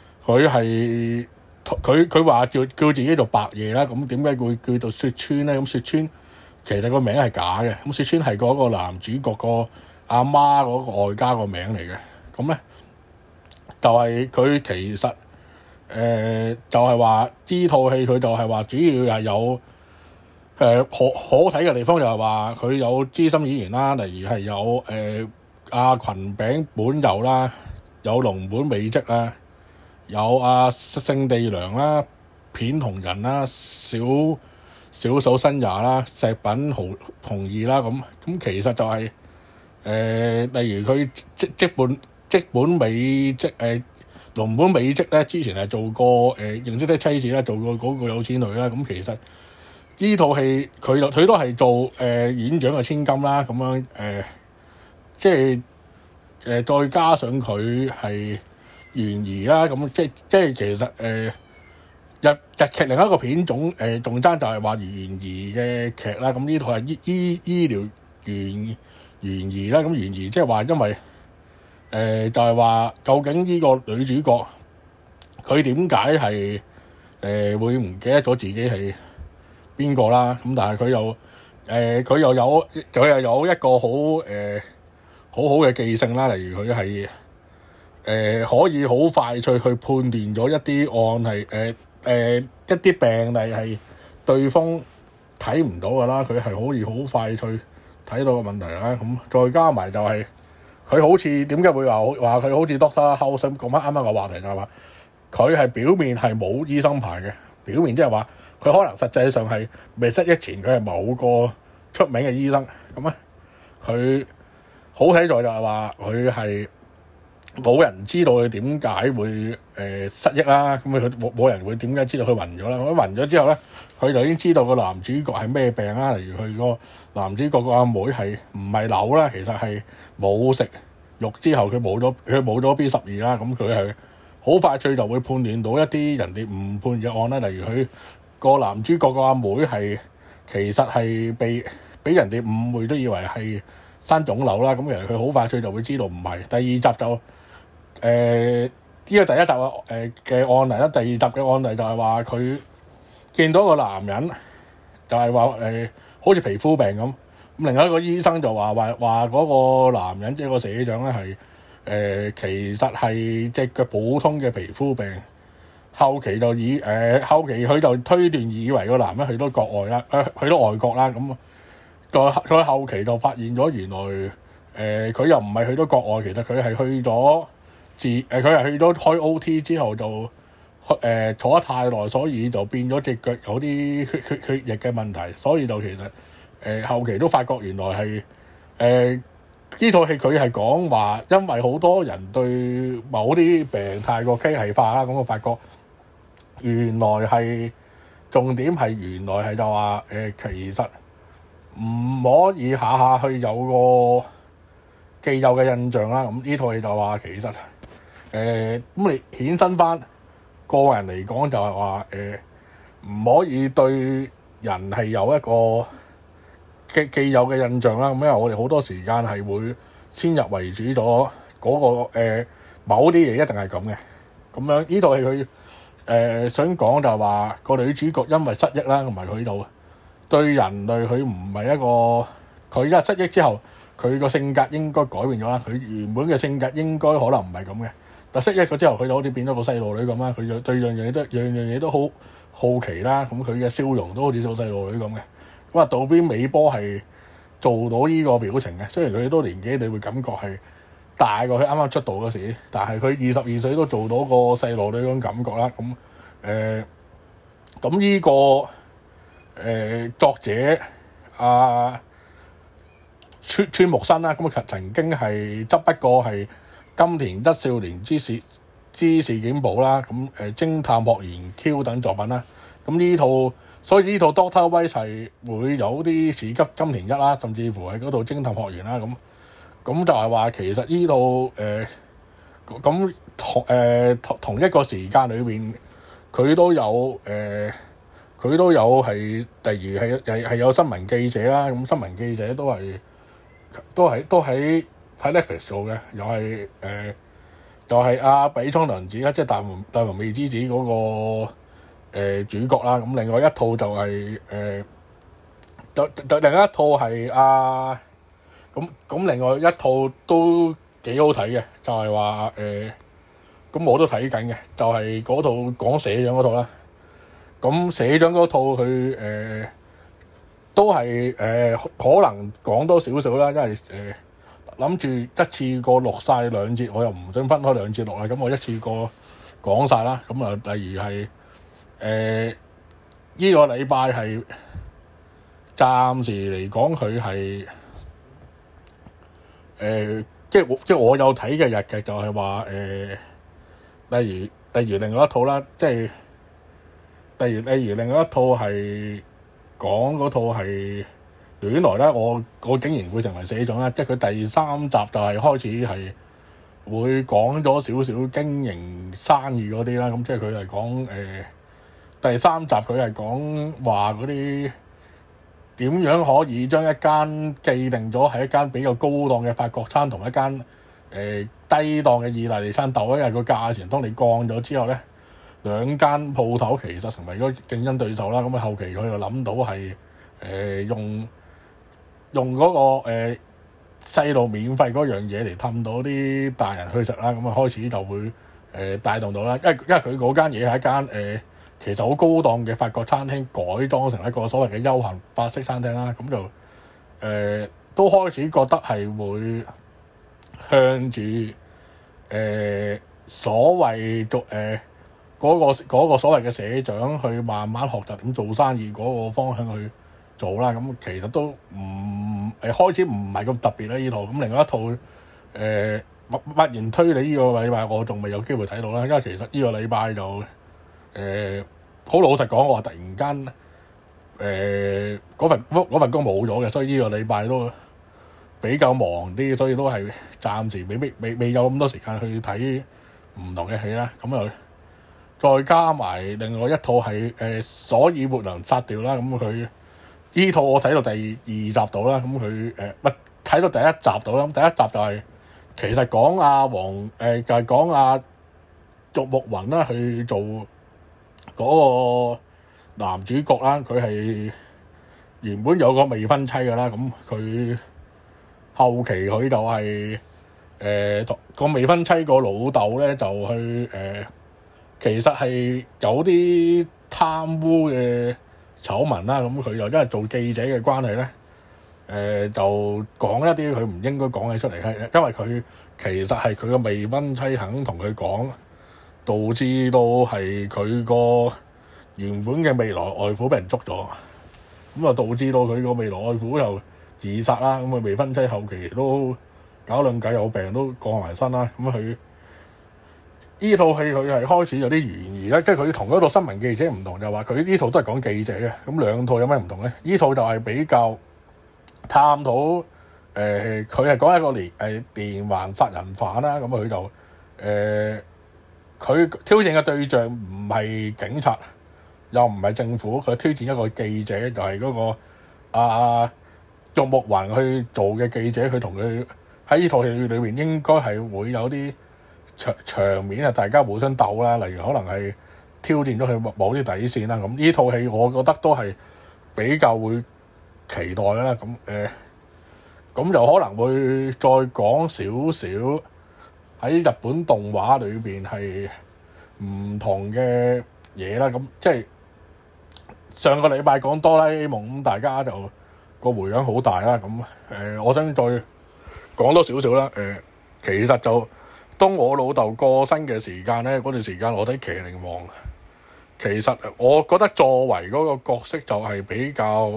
佢話叫自己做白夜啦。咁點解會叫做雪川咧？咁雪川其實個名係假嘅。咁雪川係嗰個男主角個阿媽嗰個外家個名嚟嘅。咁咧就係佢其實就係話呢套戲佢就係話主要係有可睇嘅地方，就係話佢有資深演員啦，例如係有阿群餅本佑啦，有龍本美織啦，有勝地良啦、片同人啦、小嫂新也啦、石品紅二啦。咁其實就係例如佢即本美織龍本美織咧，之前係做過認識的妻子啦，做過嗰個有錢女啦。咁其實呢套戲佢都係做院長嘅千金啦。咁樣即係再加上佢係懸疑啦。咁即係其實日劇另一個片種仲爭就係話懸疑嘅劇啦。咁呢套係醫療懸疑啦。咁懸疑即係話因為就係話究竟呢個女主角佢點解係會唔記得咗自己係邊個啦？咁但係佢又有一個好好嘅記性啦。例如佢係可以好快脆去判斷咗一啲案係一啲病例係對方睇唔到㗎啦。佢係可以好快脆睇到個問題啦。咁再加埋就係佢好似點解會話佢好似 Doctor House 咁講翻啱啱個話題，就係話佢係表面係冇醫生牌嘅，表面即係話佢可能實際上係未失憶前佢係某個出名嘅醫生。咁咧佢好睇在就係話佢係冇人知道佢點解會失憶啦。咁佢冇人會點解知道佢暈咗啦。佢暈咗之後咧，佢就已經知道個男主角係咩病啦。例如佢個男主角個阿妹係唔係瘤啦，其實係冇食肉之後佢冇咗 B12啦。咁佢係好快脆就會判斷到一啲人哋誤判嘅案啦。例如佢個男主角個阿妹其實係俾人哋誤會，都以為係生腫瘤啦。咁其實佢好快脆就會知道唔係。第二集就呢個第一集嘅案例啦，第二集嘅案例就係話佢見到個男人就係話好似皮膚病咁。咁另外一個醫生就話嗰個男人即係個社長咧係其實係隻腳普通嘅皮膚病。後期佢就推斷以為個男人去到國外啦，去到外國啦。咁再後期就發現咗原來佢又唔係去到國外，其實佢係去咗佢係去咗開 OT 之後就坐得太耐，所以就變咗隻腳有啲血液嘅問題，所以就其實後期都發覺原來係呢套戲佢係講話，因為好多人對某啲病太過機械化啦，咁我發覺原來係重點係原來係就話其實唔可以下下去有個既有嘅印象啦。咁呢套戲就話其實咁你衍生翻個人嚟講就係話唔可以對人係有一個既有嘅印象啦。咁因為我哋好多時間係會先入為主咗嗰個某啲嘢一定係咁嘅。咁樣呢套戲佢想講就係話個女主角因為失憶啦，同埋佢度對人類佢唔係一個，佢而家失憶之後佢個性格應該改變咗啦。佢原本嘅性格應該可能唔係咁嘅，但失憶咗之後佢就好似變咗個細路女咁啦。佢就對樣嘢都好好奇啦。咁佢嘅笑容都好似做細路女咁嘅。咁啊，渡邊美波係做到呢個表情嘅，雖然佢都年紀，你會感覺係大過佢啱啱出道嗰時，但係佢22歲都做到個細路女嗰種感覺啦。咁呢個作者川木新啦，咁曾經係執筆過係金田一少年之事件簿啦，咁偵探學園 Q 等作品啦。咁所以呢套 Doctor White 係會有啲似金田一啦，甚至乎係嗰套偵探學園啦。咁就係話其實呢套同一個時間裏邊佢都有係例如係有新聞記者啦。咁新聞記者都喺 Netflix 做嘅，又係就係阿比倉涼子啦，即係大門未知子嗰個主角啦。咁另外一套就係另一套係咁另外一套都幾好睇嘅，就係話咁我都睇緊嘅，就係嗰套講社長嗰套啦。咁社長嗰套佢都係可能講多少少啦，因為諗住一次過錄晒兩節，我又唔想分開兩節錄啦，咁我一次過講晒啦。咁啊，例如係呢個禮拜係暫時嚟講佢係即係我有睇嘅日劇就係話例如另外一套啦，即係例如另外一套係講嗰套係原來咧，我竟然會成為社長啦，即係佢第3集就係開始係會講咗少少經營生意嗰啲啦。咁即係佢係講第3集佢係講話嗰啲點樣可以將一間既定咗係一間比較高檔嘅法國餐同一間低檔嘅意大利餐鬥，因為個價錢當你降咗之後咧，兩間鋪頭其實成為咗競爭對手啦。咁啊後期佢就諗到係用嗰個細路免費嗰樣嘢嚟氹到啲大人去食啦。咁啊開始就會帶動到啦，因為佢嗰間嘢係一間其實好高檔嘅法國餐廳改裝成一個所謂嘅休閒法式餐廳啦。咁就都開始覺得係會向住所謂嗰個所謂嘅社長去慢慢學習點做生意嗰個方向去做啦。咁其實都開始唔係咁特別啦呢套。咁另外一套默然推理呢個禮拜我仲未有機會睇到啦，因為其實呢個禮拜就好老實講，我話突然間嗰份工冇咗嘅，所以呢個禮拜都比較忙啲，所以都係暫時未有咁多時間去睇唔同嘅戲啦，咁又再加埋另外一套係所以沒能殺掉啦，咁佢呢套我睇到第二集到啦，咁佢睇到第一集到啦，咁第一集就係、其實講就係講阿玉木宏啦去做嗰個男主角啦，佢係原本有個未婚妻㗎啦，咁佢後期佢就係個未婚妻個老豆咧就去其實係有啲貪污嘅醜聞啦，咁佢又因為做記者嘅關係咧，就講一啲佢唔應該講嘅出嚟，因為佢其實係佢個未婚妻肯同佢講，導致到係佢個原本嘅未來外父俾人捉咗，咁啊導致到佢個未來外父又自殺啦，咁啊未婚妻後期都搞兩計有病都過埋身啦，咁佢呢套戲佢係開始有啲懸疑咧，即係佢同嗰套新聞記者唔同，就話佢呢套都係講記者嘅，咁兩套有咩唔同咧？呢套就係比較探討佢係講一個連環殺人犯啦，咁佢就佢挑戰嘅對象唔係警察，又唔係政府，佢挑戰一個記者，就係嗰個玉木宏去做嘅記者，佢同佢喺呢套戲裏面應該係會有啲場面係大家互相鬥啦，例如可能係挑戰咗佢某啲底線啦。咁呢套戲我覺得都係比較會期待啦。咁就可能會再講少少喺日本動畫裏邊係唔同嘅嘢啦。咁即係上個禮拜講哆啦 A 夢，咁大家就個迴響好大啦。咁我想再講多少少啦。其實就當我老豆過身嘅時間咧，嗰段時間我睇《麒麟王》，其實我覺得作為嗰個角色就係比較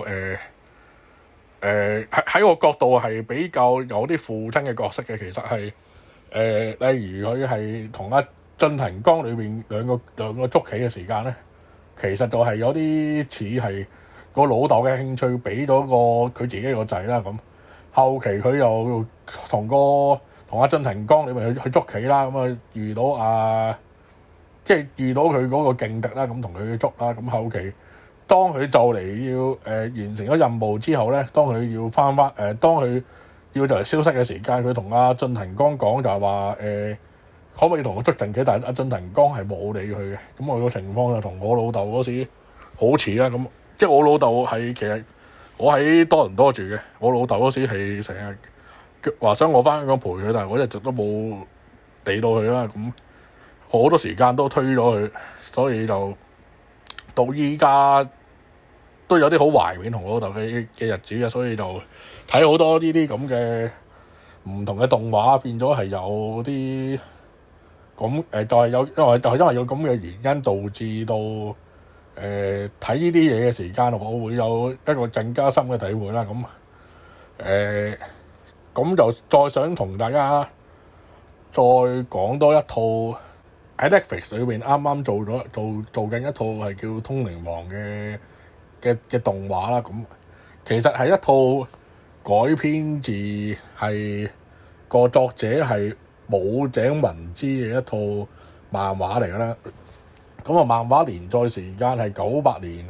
喺我角度係比較有啲父親嘅角色嘅。其實係例如佢係同阿進藤光裏邊兩個捉棋嘅時間咧，其實就係有啲似係個老豆嘅興趣俾咗佢自己個仔啦。咁後期佢又同阿進藤光裏面去捉棋啦，咁啊遇到即係遇到佢嗰個勁敵啦，咁同佢去捉啦。咁後期當佢就嚟要完成咗任務之後咧，當佢要當佢要就嚟消失嘅時間，佢同阿進藤光講就係話可唔可以同我捉陣棋？但係阿進藤光係冇理佢嘅。咁我個情況就同我老豆嗰時好似啦。咁即係我老豆係其實我喺多倫多住嘅，我老豆嗰時係成日話想我翻香港陪佢，但係我一直都冇理到佢啦。咁好多時間都推咗佢，所以就到依家都有啲好懷緬同我老豆嘅日子嘅，所以就睇好多呢啲咁嘅唔同嘅動畫，變咗係有啲咁就係因為有咁嘅原因導致到睇呢啲嘢嘅時間，我會有一個更加深嘅體會啦。咁就再想同大家再講多一套喺 Netflix 裏邊啱啱做緊一套係叫《通靈王》嘅動畫啦。咁其實係一套改編自係個作者係武井文之嘅一套漫畫嚟㗎啦。咁啊，漫畫連載時間係1998年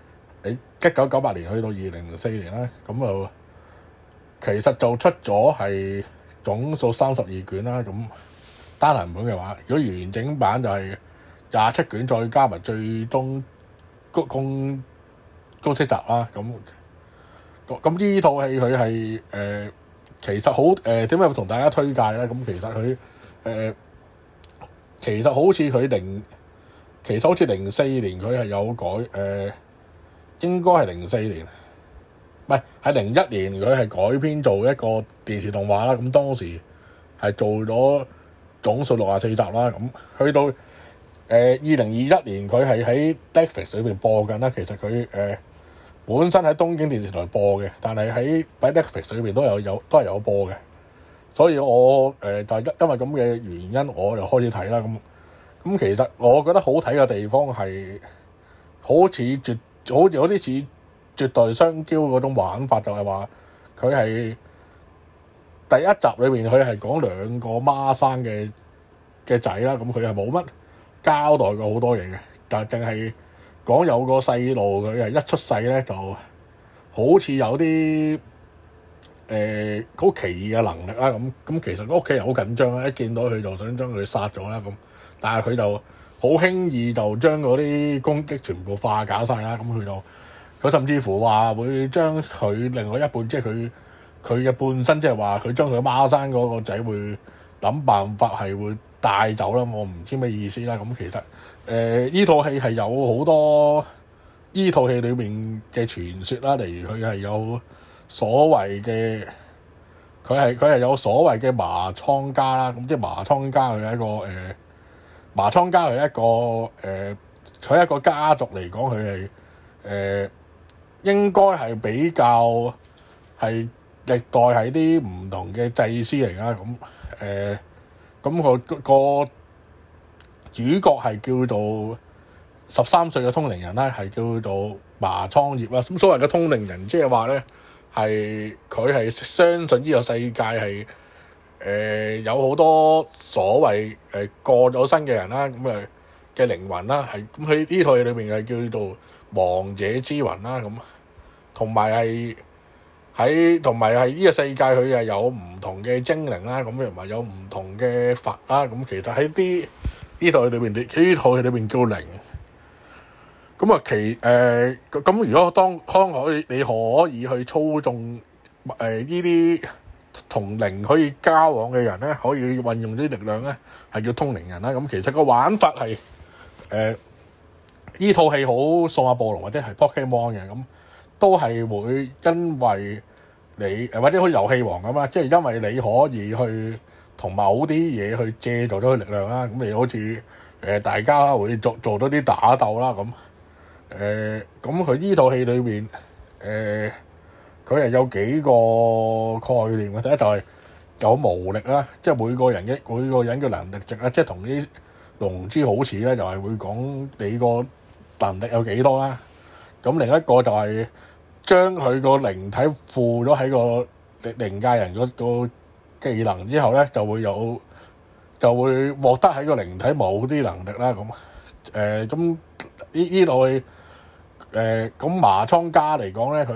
去到2004年啦。咁就其實就出咗係總數32卷啦。咁單行本嘅話，如果完整版就係27卷，再加埋最終公式集啦。咁呢套戲佢係其實好點解同大家推介咧？咁其實佢其實好似04年佢係有改應該係04年，唔係01年佢係改編做一個電視動畫啦。咁當時係做咗總數64集啦。咁去到2021年佢係喺 Netflix 裏邊播緊啦。其實佢本身喺東京電視台播嘅，但係喺 Netflix 裏邊都係有播嘅。所以我就係因為咁嘅原因，我就開始睇啦。咁其實我覺得好睇嘅地方係好有啲似絕代雙驕嗰種玩法，就係話佢係第一集裏面佢係講兩個孖生嘅嘅仔啦，咁佢係冇乜交代過好多嘢嘅，但係淨係講有個細路佢係一出世咧就好似有啲好奇異嘅能力啦，咁其實屋企人好緊張啦，一見到佢就想將佢殺咗啦，咁但係佢就好輕易就將嗰啲攻擊全部化解晒啦，咁佢甚至乎話會將佢另外一半，即係佢嘅半身，即係話佢將佢孖生嗰個仔會諗辦法係會帶走啦，我唔知咩意思啦。咁其實呢套戲係有好多呢套戲裏面嘅傳說啦，例如佢係有所謂嘅，佢係有所謂嘅麻倉家啦，咁即係麻倉家佢係一個麻倉家係一個佢係一個家族嚟講，佢係應該係比較係歷代係啲唔同嘅祭司嚟啦，咁個主角係叫做13歲嘅通靈人啦，係叫做麻倉葉啦。咁所謂嘅通靈人，即係話咧係佢係相信呢個世界係有好多所謂過咗身嘅人啦，咁嘅靈魂啦，係咁喺呢套戲裏面係叫做亡者之魂啦，咁同埋係呢個世界佢係有唔同嘅精靈啦，咁同埋有唔同嘅佛啦，咁其實喺呢套戲裏面，呢套戲裏面叫靈。咁啊咁如果當你可以去操縱呢啲同靈可以交往嘅人咧，可以運用啲力量咧，係叫通靈人啦。咁其實個玩法係呢套戲好數碼暴龍或者係 Pokemon 嘅，咁都係會因為你或者好似遊戲王咁啦，即係因為你可以去同某啲嘢去借助咗佢力量啦，咁你好似大家會做到啲打鬥啦，咁咁佢呢套戲裏面佢係有幾個概念嘅。第一就係有無力啦，即係每個人嘅能力值啦，即係同啲龍珠好似咧，就係會講你個能力有幾多啦。咁另一個就係將佢個靈體附咗喺個靈界人個技能之後咧，就會獲得喺個靈體某啲能力啦。咁呢度咁麻倉家嚟講咧，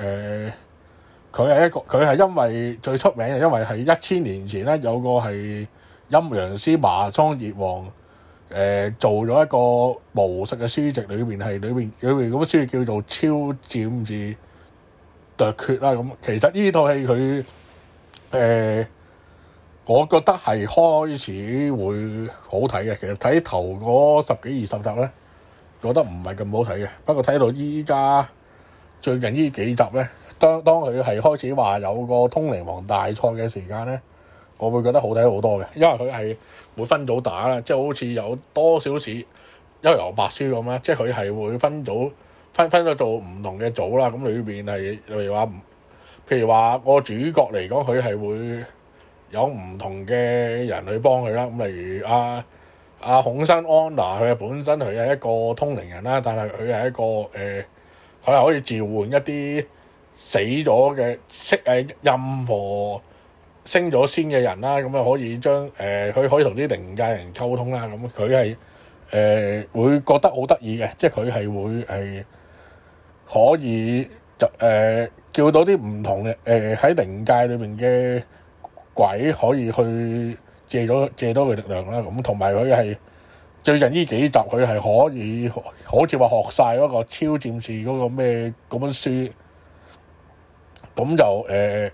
佢係因為最出名嘅，因為係1000年前咧有個係陰陽師麻倉葉王做咗一個巫術嘅書籍，裏面咁書籍叫做《超占士奪決》啦。咁其實呢套戲佢我覺得係開始會好睇嘅。其實睇頭嗰10幾20集咧，覺得唔係咁好睇嘅。不過睇到依家最近呢幾集咧，當佢係開始話有個通靈王大賽嘅時間咧，我會覺得好睇好多嘅，因為佢係會分組打啦，即係好似有多少似幽遊白書咁啦，即係佢係會分組分咗做唔同嘅組啦。咁裏邊係譬如話個主角嚟講，佢係會有唔同嘅人去幫佢啦。咁例如阿孔生安娜，佢本身佢係一個通靈人啦，但係佢係一個佢係可以召喚一啲死咗嘅任何升咗仙嘅人啦，咁啊可以將佢可以同啲靈界人溝通啦。咁佢係會覺得好得意嘅，即係佢係會可以就叫到啲唔同嘅喺靈界裏面嘅鬼可以去借到佢力量啦。咁同埋佢係最近呢幾集佢係可以好似話學晒嗰個超戰士嗰個咩嗰本書，咁就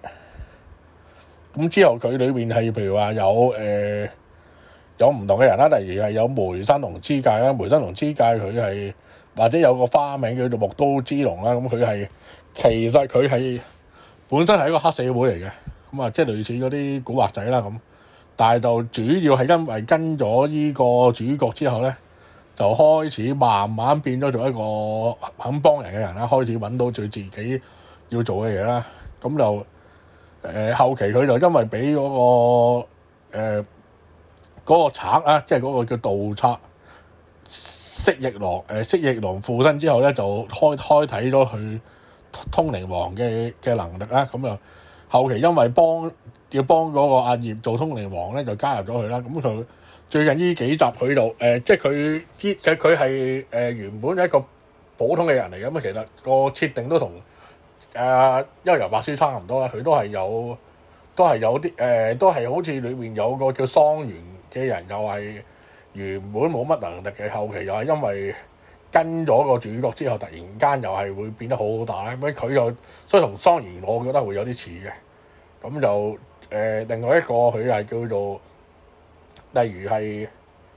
咁之後佢裏面係譬如話有唔同嘅人啦，例如係有梅山龍之介啦，梅山龍之介佢係或者有個花名叫做木刀之龍啦。咁其實佢係本身係一個黑社會嚟嘅，咁啊即係類似嗰啲古惑仔啦咁。但係就主要係因為跟咗呢個主角之後咧，就開始慢慢變咗做一個肯幫人嘅人啦，開始揾到佢自己要做嘅嘢啦。咁就後期佢就因為俾嗰個賊啊，即係嗰個叫盜賊蜥蜴狼附身之後咧，就開啟咗佢通靈王嘅能力啦。咁就後期因為要幫嗰個阿葉做通靈王咧，就加入咗佢啦。咁佢最近呢幾集佢就即係佢係原本係一個普通嘅人嚟嘅，咁其實個設定都同幽遊白書差唔多啦，佢都係有啲都係好似裏面有個叫桑原嘅人，又係原本冇乜能力嘅，後期又係因為跟咗個主角之後，突然間又係會變得好大咁，佢又所以同桑原我覺得會有啲似嘅。咁就另外一個佢係叫做例如係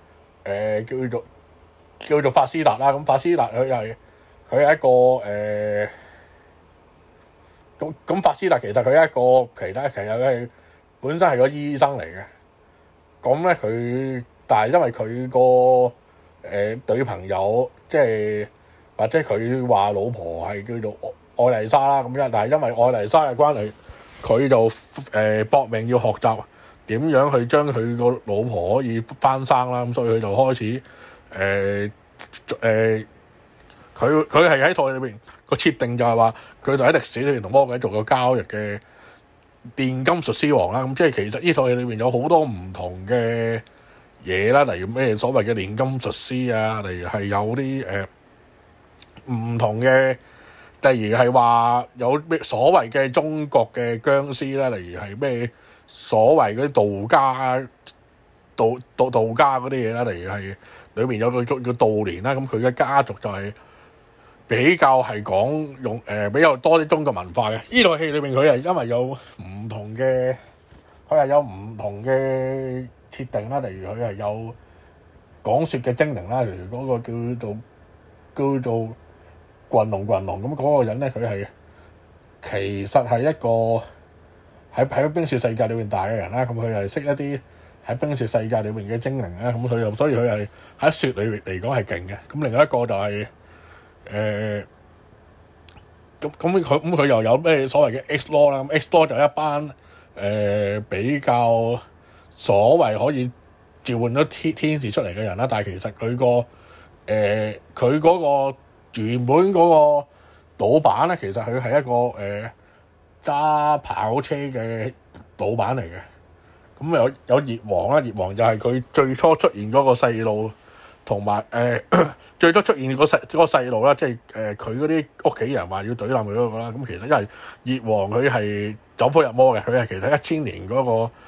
叫做法斯達啦，咁法斯達佢係一個咁法斯達其實佢係一個其實佢係本身係個醫生嚟嘅，咁咧佢但係因為佢個女朋友即係或者佢話老婆係叫做愛麗莎啦咁樣，但係因為愛麗莎嘅關係，佢就搏命要學習點樣去將佢個老婆可以翻生啦，咁所以佢就開始佢係喺套裏邊個設定就係話佢就喺歷史裏邊同魔鬼做過交易嘅煉金術師王啦，咁即係其實呢套戲裏邊有好多唔同嘅嘢啦，例如咩所謂嘅煉金術師啊，例如係有啲唔同嘅，例如係話有咩所謂嘅中國嘅僵屍啦，例如係咩所謂嗰啲道家嗰啲嘢啦，例如係裏面有個叫道連啦，咁佢嘅家族就係比較係講用比較多啲中國文化嘅。呢套戲裏面佢係因為有唔同嘅，佢係有唔同嘅設定啦，例如佢係有講説嘅精靈啦，例如嗰個叫做群龍咁嗰個人咧，佢係其實係一個喺冰雪世界裏面大嘅人啦，咁佢係識一啲喺冰雪世界裏面嘅精靈啦，咁佢又所以佢係喺雪裏面嚟講係勁嘅。咁另外一個就係佢又有咩所謂嘅 X-Law 啦，咁 X-Law 就一班比較所謂可以召喚咗天使出嚟嘅人啦，但係其實佢嗰個原本嗰個老闆咧，其實佢係一個揸跑車嘅老闆嚟嘅。咁有葉王啦，葉王就係佢最初出現嗰個細路，同埋最初出現嗰個細路啦，即係佢嗰啲屋企人話要懟冧佢嗰個啦。咁其實因為葉王佢係走火入魔嘅，佢係其實1000年嗰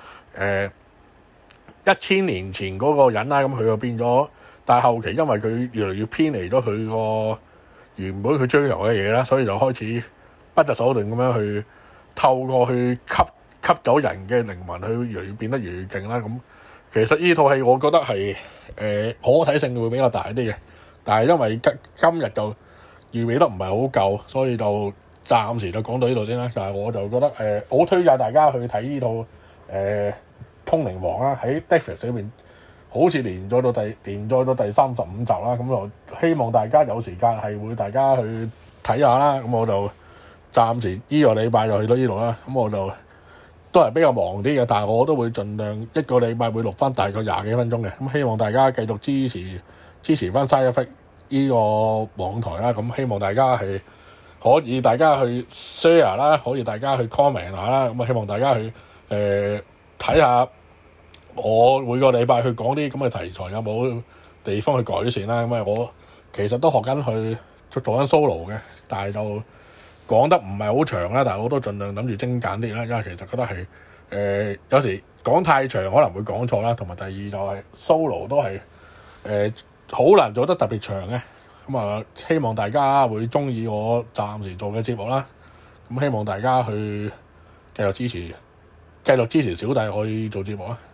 個1000年前嗰個人啦，咁佢就變咗，但係後期因為佢越嚟越偏離咗佢個原本佢追求嘅嘢啦，所以就開始不擇手段咁樣去透過去吸走人嘅靈魂，去越嚟越變得越嚟越勁啦。咁其實呢套戲我覺得係可睇性會比較大啲嘅，但係因為今日就預備得唔係好夠，所以就暫時就講到呢度先啦。但係我就覺得好推介大家去睇呢套通靈王啦，喺 Netflix 裏邊好似連載到第35集啦。咁就希望大家有時間係會大家去睇下啦。咁我就暫時呢個禮拜就去到呢度啦。咁我就都係比較忙啲嘅，但係我都會盡量一個禮拜會錄翻大概20幾分鐘嘅。咁希望大家繼續支持翻 Side Effect 呢個網台啦。咁希望大家係可以大家去 share 啦，可以大家去 comment 下啦。咁希望大家去睇下我每個禮拜去講啲咁嘅題材有冇地方去改善啦。咁我其實都學緊去做緊 solo 嘅，但係就講得唔係好長啦，但係我都盡量諗住精簡啲啦，因為其實覺得係有時講太長可能會講錯啦，同埋第二就係 solo 都係好難做得特別長嘅。咁希望大家會中意我暫時做嘅節目啦。咁希望大家去繼續支持小弟去做節目啊！